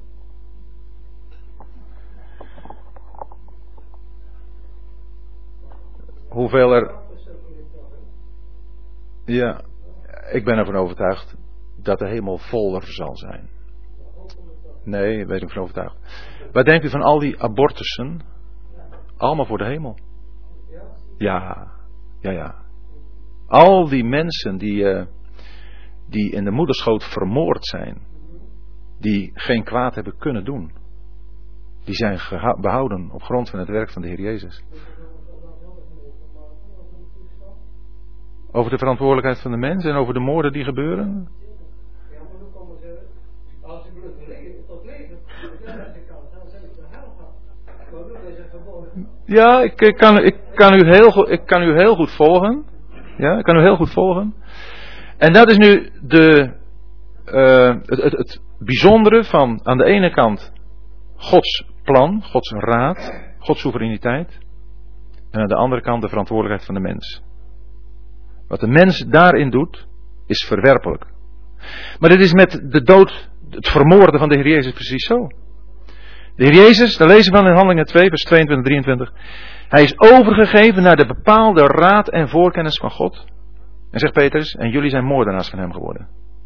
Hoeveel er... Ja, ik ben ervan overtuigd dat de hemel voller zal zijn. Nee, daar ben ik van overtuigd. Wat denkt u van al die abortussen? Allemaal voor de hemel. Ja, ja, ja. Al die mensen die, uh, die in de moederschoot vermoord zijn, die geen kwaad hebben kunnen doen, die zijn geha- behouden op grond van het werk van de Heer Jezus. Over de verantwoordelijkheid van de mens en over de moorden die gebeuren? Ja, maar hoe kan men zeggen, als ik gelukkig leven, tot leven, dan zeg ik de hel gaan. Maar nu is het gewoon. Ja, ik, ik, kan, ik, kan u heel goed, ik kan u heel goed volgen. Ja, ik kan u heel goed volgen. En dat is nu de, uh, het, het, het bijzondere van aan de ene kant Gods plan, Gods raad, Gods soevereiniteit. En aan de andere kant de verantwoordelijkheid van de mens. Wat de mens daarin doet, is verwerpelijk. Maar dit is met de dood, het vermoorden van de Heer Jezus precies zo. De Heer Jezus, daar lezen we van in Handelingen twee, vers tweeëntwintig, drieëntwintig. Hij is overgegeven naar de bepaalde raad en voorkennis van God. En zegt Petrus, en jullie zijn moordenaars van hem geworden.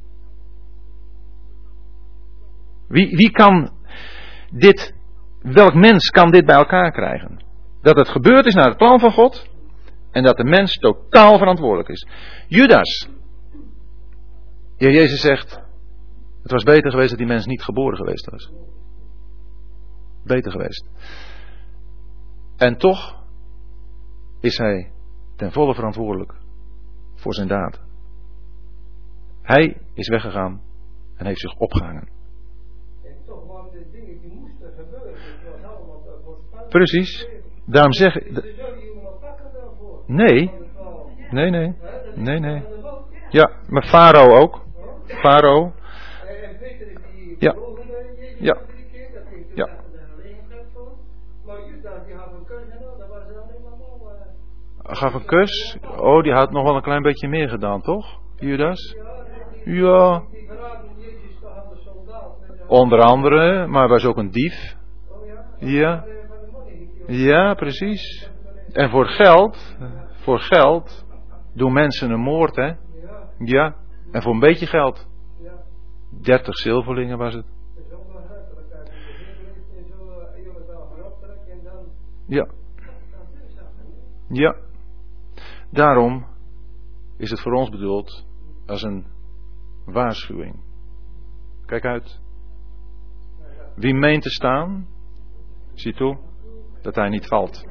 Wie, wie kan dit, welk mens kan dit bij elkaar krijgen? Dat het gebeurd is naar het plan van God. En dat de mens totaal verantwoordelijk is. Judas. De Heer Jezus zegt, het was beter geweest dat die mens niet geboren geweest was. Beter geweest. En toch is hij ten volle verantwoordelijk voor zijn daad. Hij is weggegaan en heeft zich opgehangen. En toch waren de dingen die moesten gebeuren. Het was allemaal voorspeld. Precies. Daarom zeg ik... Ze zullen je maar pakken daarvoor. Nee. Nee, nee. Nee, nee. Ja, maar Farao ook. Farao. En Peter die Ja. Jezus Ja. drie keer, dat ging toen Ja. achter de legerkant voor. Maar Judas die had een kus en al, dat was alleen maar mal. Uh, Gaf een kus. Oh, die had nog wel een klein beetje meer gedaan, toch? Judas? Ja. die verraden Jezus toch aan de soldaat. met de- Onder andere, maar was ook een dief. Oh ja? Ja. Van de money. Ja, precies. En voor geld, voor geld doen mensen een moord, hè? Ja, Ja. En voor een beetje geld. ja. dertig zilverlingen was het. Het is ook wel hartelijk uit. De Heer heeft en zo uh, eeuwig wel gaan optrekken en dan... Ja. dan is dat, hè? Ja. Daarom is het voor ons bedoeld als een waarschuwing. Kijk uit. Wie meent te staan, zie toe, Dat hij niet valt.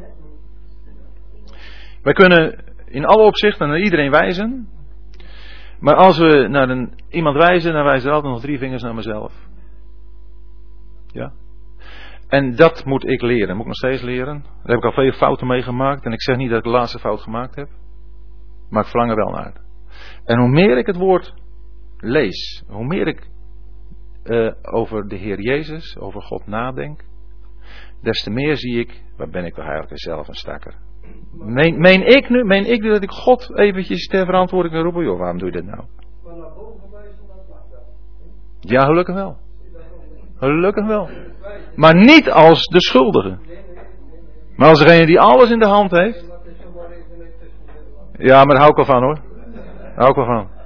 Wij kunnen in alle opzichten naar iedereen wijzen. Maar als we naar een, iemand wijzen, dan wijzen er altijd nog drie vingers naar mezelf. Ja. En dat moet ik leren. Dat moet ik nog steeds leren. Daar heb ik al veel fouten mee gemaakt. En ik zeg niet dat ik de laatste fout gemaakt heb. Maar ik verlang er wel naar. En hoe meer ik het woord lees. Hoe meer ik uh, over de Heer Jezus, over God nadenk. Des te meer zie ik, waar ben ik toch eigenlijk zelf een stakker. Meen, meen ik nu, meen ik nu dat ik God eventjes ter verantwoording kan roepen? Joh, waarom doe je dit nou? Ja, gelukkig wel. Gelukkig wel. Maar niet als de schuldige. Maar als degene die alles in de hand heeft. Ja, maar daar hou ik wel van hoor. Daar hou ik wel van.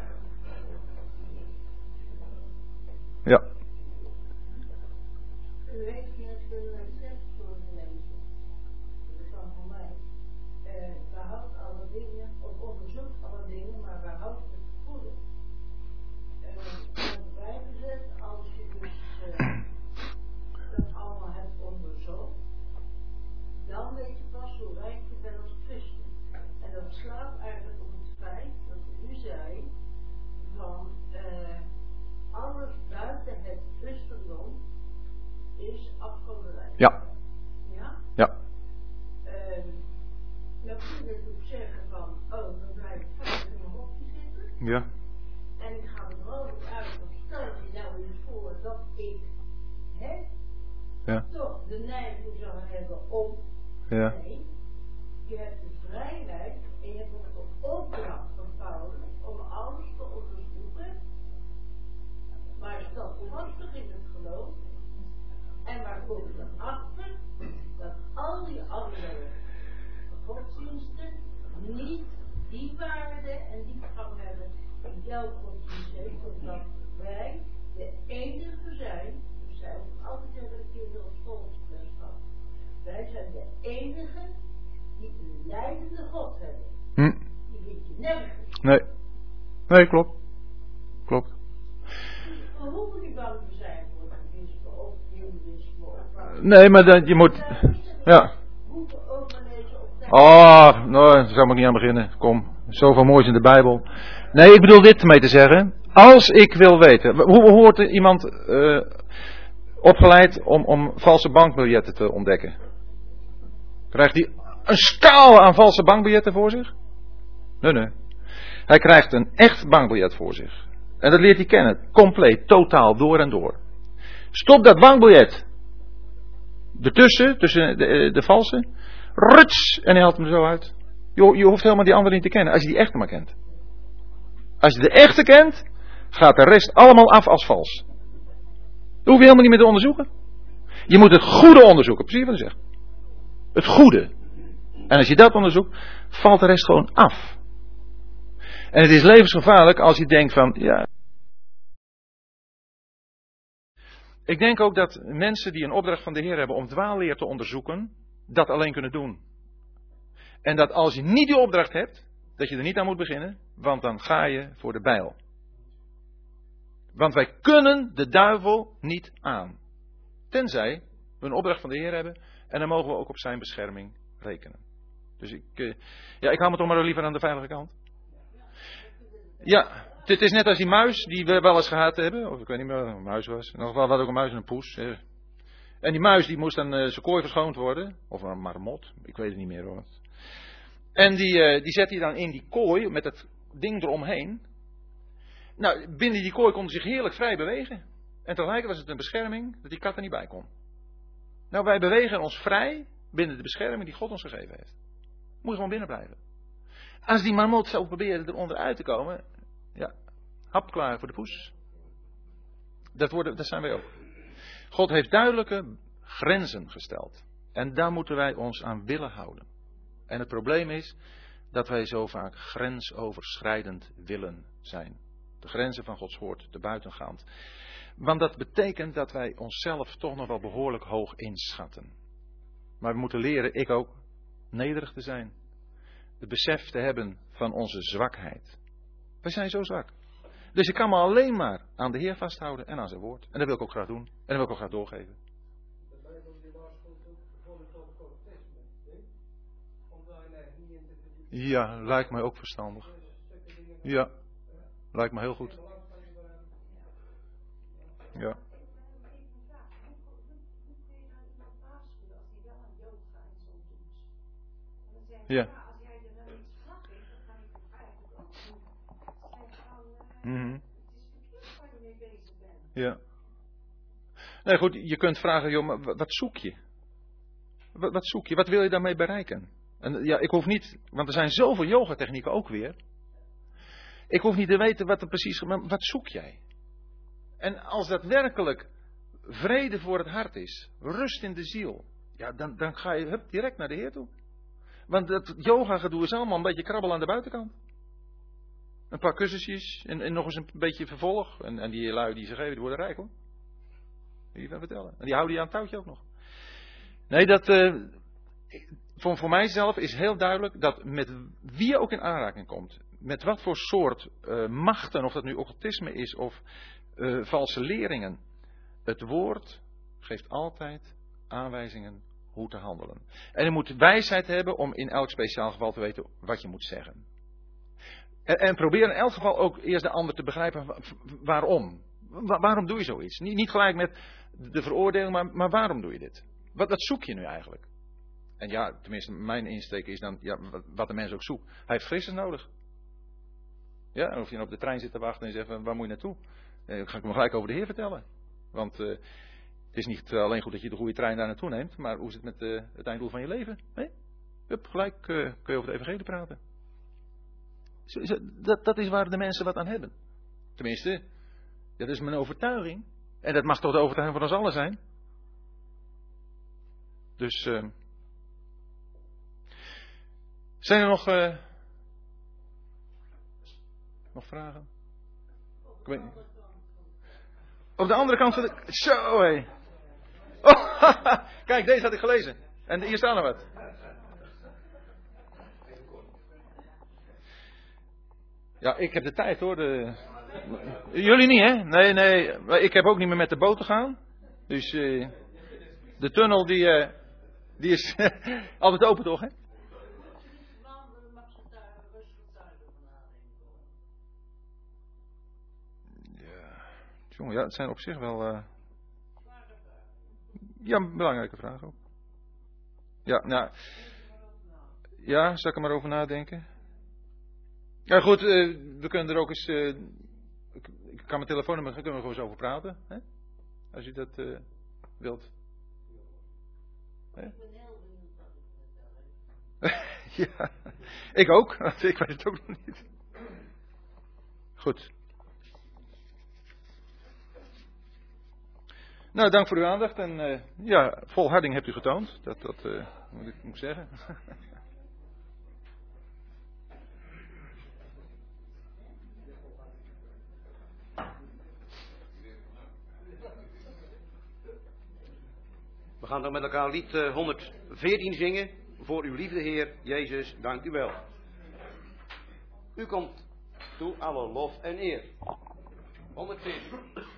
Ja. Ja. Ja? Ja. Uh, dan kun je natuurlijk zeggen van, oh, dan blijf ik vast in mijn hokje zitten. Ja. En ik ga er vrolijk uit, want stel je nou eens voor dat ik, hè, ja. toch de neiging zou hebben om, ja. nee, je hebt de vrijheid en je hebt ook de opdracht van Paulus om alles te onderzoeken, maar standvastig in het geloof. En waar kom je dan achter? Dat al die andere godsdiensten niet die waarde en die gang hebben in jouw godsdienst heeft, omdat wij de enige zijn, dus zij ook altijd zeggen de kinderen op schoolgemeenschap, wij zijn de enige die een leidende God hebben. Hm. Die vind je nergens. Nee. Nee, klopt. Klopt. We hoeven niet bang te zijn voor communisme of humanisme of... Nee, maar dat, je moet... Ja. Oh, nou, daar zou ik niet aan beginnen. Kom, zoveel moois in de Bijbel. Nee, ik bedoel dit mee te zeggen. Als ik wil weten... Hoe wordt iemand uh, opgeleid om, om valse bankbiljetten te ontdekken? Krijgt hij een schaal aan valse bankbiljetten voor zich? Nee, nee. Hij krijgt een echt bankbiljet voor zich. En dat leert hij kennen. Compleet, totaal, door en door. Stop dat bankbiljet ertussen, tussen de, de valse. Ruts! En hij haalt hem er zo uit. Je, je hoeft helemaal die andere niet te kennen, als je die echte maar kent. Als je de echte kent, gaat de rest allemaal af als vals. Dat hoef je helemaal niet meer te onderzoeken. Je moet het goede onderzoeken, precies wat hij zegt. Het goede. En als je dat onderzoekt, valt de rest gewoon af. En het is levensgevaarlijk als je denkt van, ja... Ik denk ook dat mensen die een opdracht van de Heer hebben om dwaalleer te onderzoeken, dat alleen kunnen doen. En dat als je niet die opdracht hebt, dat je er niet aan moet beginnen, want dan ga je voor de bijl. Want wij kunnen de duivel niet aan. Tenzij we een opdracht van de Heer hebben en dan mogen we ook op zijn bescherming rekenen. Dus ik, uh, ja, ik hou me toch maar liever aan de veilige kant. Ja, het is net als die muis die we wel eens gehad hebben. Of ik weet niet meer wat een muis was. In ieder geval had ook een muis en een poes. Hè. En die muis die moest dan uh, zijn kooi verschoond worden. Of een marmot. Ik weet het niet meer hoor. En die, uh, die zet hij dan in die kooi met het ding eromheen. Nou, binnen die kooi kon hij zich heerlijk vrij bewegen. En tegelijk was het een bescherming dat die kat er niet bij kon. Nou, wij bewegen ons vrij binnen de bescherming die God ons gegeven heeft. Moet gewoon binnen blijven. Als die marmot zou proberen eronder uit te komen, ja, hap klaar voor de poes. Dat, worden, dat zijn wij ook. God heeft duidelijke grenzen gesteld. En daar moeten wij ons aan willen houden. En het probleem is dat wij zo vaak grensoverschrijdend willen zijn. De grenzen van Gods woord te buitengaand. Want dat betekent dat wij onszelf toch nog wel behoorlijk hoog inschatten. Maar we moeten leren, ik ook, nederig te zijn. Het besef te hebben van onze zwakheid. Wij zijn zo zwak. Dus ik kan me alleen maar aan de Heer vasthouden en aan zijn woord. En dat wil ik ook graag doen. En dat wil ik ook graag doorgeven. Ja, lijkt mij ook verstandig. Ja, lijkt me heel goed. Ja. Ja. Mm-hmm. Ja. Nee, goed, je kunt vragen, joh, maar wat zoek je? Wat, wat zoek je? Wat wil je daarmee bereiken? En ja, ik hoef niet, want er zijn zoveel yogatechnieken ook weer. Ik hoef niet te weten wat er precies, maar wat zoek jij? En als dat werkelijk vrede voor het hart is, rust in de ziel, ja, dan, dan ga je hup, direct naar de Heer toe. Want dat yoga gedoe is allemaal een beetje krabbel aan de buitenkant. Een paar kussentjes en, en nog eens een beetje vervolg. En, en die lui die ze geven, die worden rijk hoor. Wil je dat vertellen? En die houden je aan het touwtje ook nog. Nee, dat, uh, voor, voor mijzelf is heel duidelijk dat met wie je ook in aanraking komt, met wat voor soort uh, machten, of dat nu occultisme is of uh, valse leringen, het woord geeft altijd aanwijzingen hoe te handelen. En je moet wijsheid hebben om in elk speciaal geval te weten wat je moet zeggen. En, en probeer in elk geval ook eerst de ander te begrijpen waarom. Wa- waarom doe je zoiets? Niet, niet gelijk met de veroordeling, maar, maar waarom doe je dit? Wat, wat zoek je nu eigenlijk? En ja, tenminste mijn insteek is dan, ja, wat de mens ook zoekt. Hij heeft frisses nodig. Ja, en of je dan op de trein zit te wachten en je zegt, waar moet je naartoe? Dan ga ik hem gelijk over de Heer vertellen. Want uh, het is niet alleen goed dat je de goede trein daar naartoe neemt, maar hoe is het met uh, het einddoel van je leven? Nee? Hup, gelijk uh, kun je over de evangelie praten. Zo, zo, dat, dat is waar de mensen wat aan hebben. Tenminste, dat is mijn overtuiging. En dat mag toch de overtuiging van ons allen zijn. Dus, uh, zijn er nog, uh, nog vragen? Ik weet niet. Op de andere kant van de... Zo, hé. Oh, kijk, deze had ik gelezen. En hier staan er wat. Ja, ik heb de tijd hoor. De... Jullie niet, hè? Nee, nee. Ik heb ook niet meer met de boot te gaan. Dus uh, de tunnel die, uh, die is altijd open toch, hè? Ja, jongen, ja, het zijn op zich wel... Uh... Ja, een belangrijke vraag ook. Ja, nou... Ja, zal ik er maar over nadenken? Ja goed, uh, we kunnen er ook eens... Uh, ik, ik kan mijn telefoonnummer, daar kunnen we gewoon eens over praten. Hè? Als je dat uh, wilt. Hè? Ja, ik ook. Ik weet het ook nog niet. Goed. Nou, dank voor uw aandacht. En uh, ja, volharding hebt u getoond. Dat, dat uh, moet ik moet zeggen. We gaan dan met elkaar lied uh, honderdveertien zingen. Voor uw liefde Heer, Jezus, dank u wel. U komt toe alle lof en eer. honderdveertien.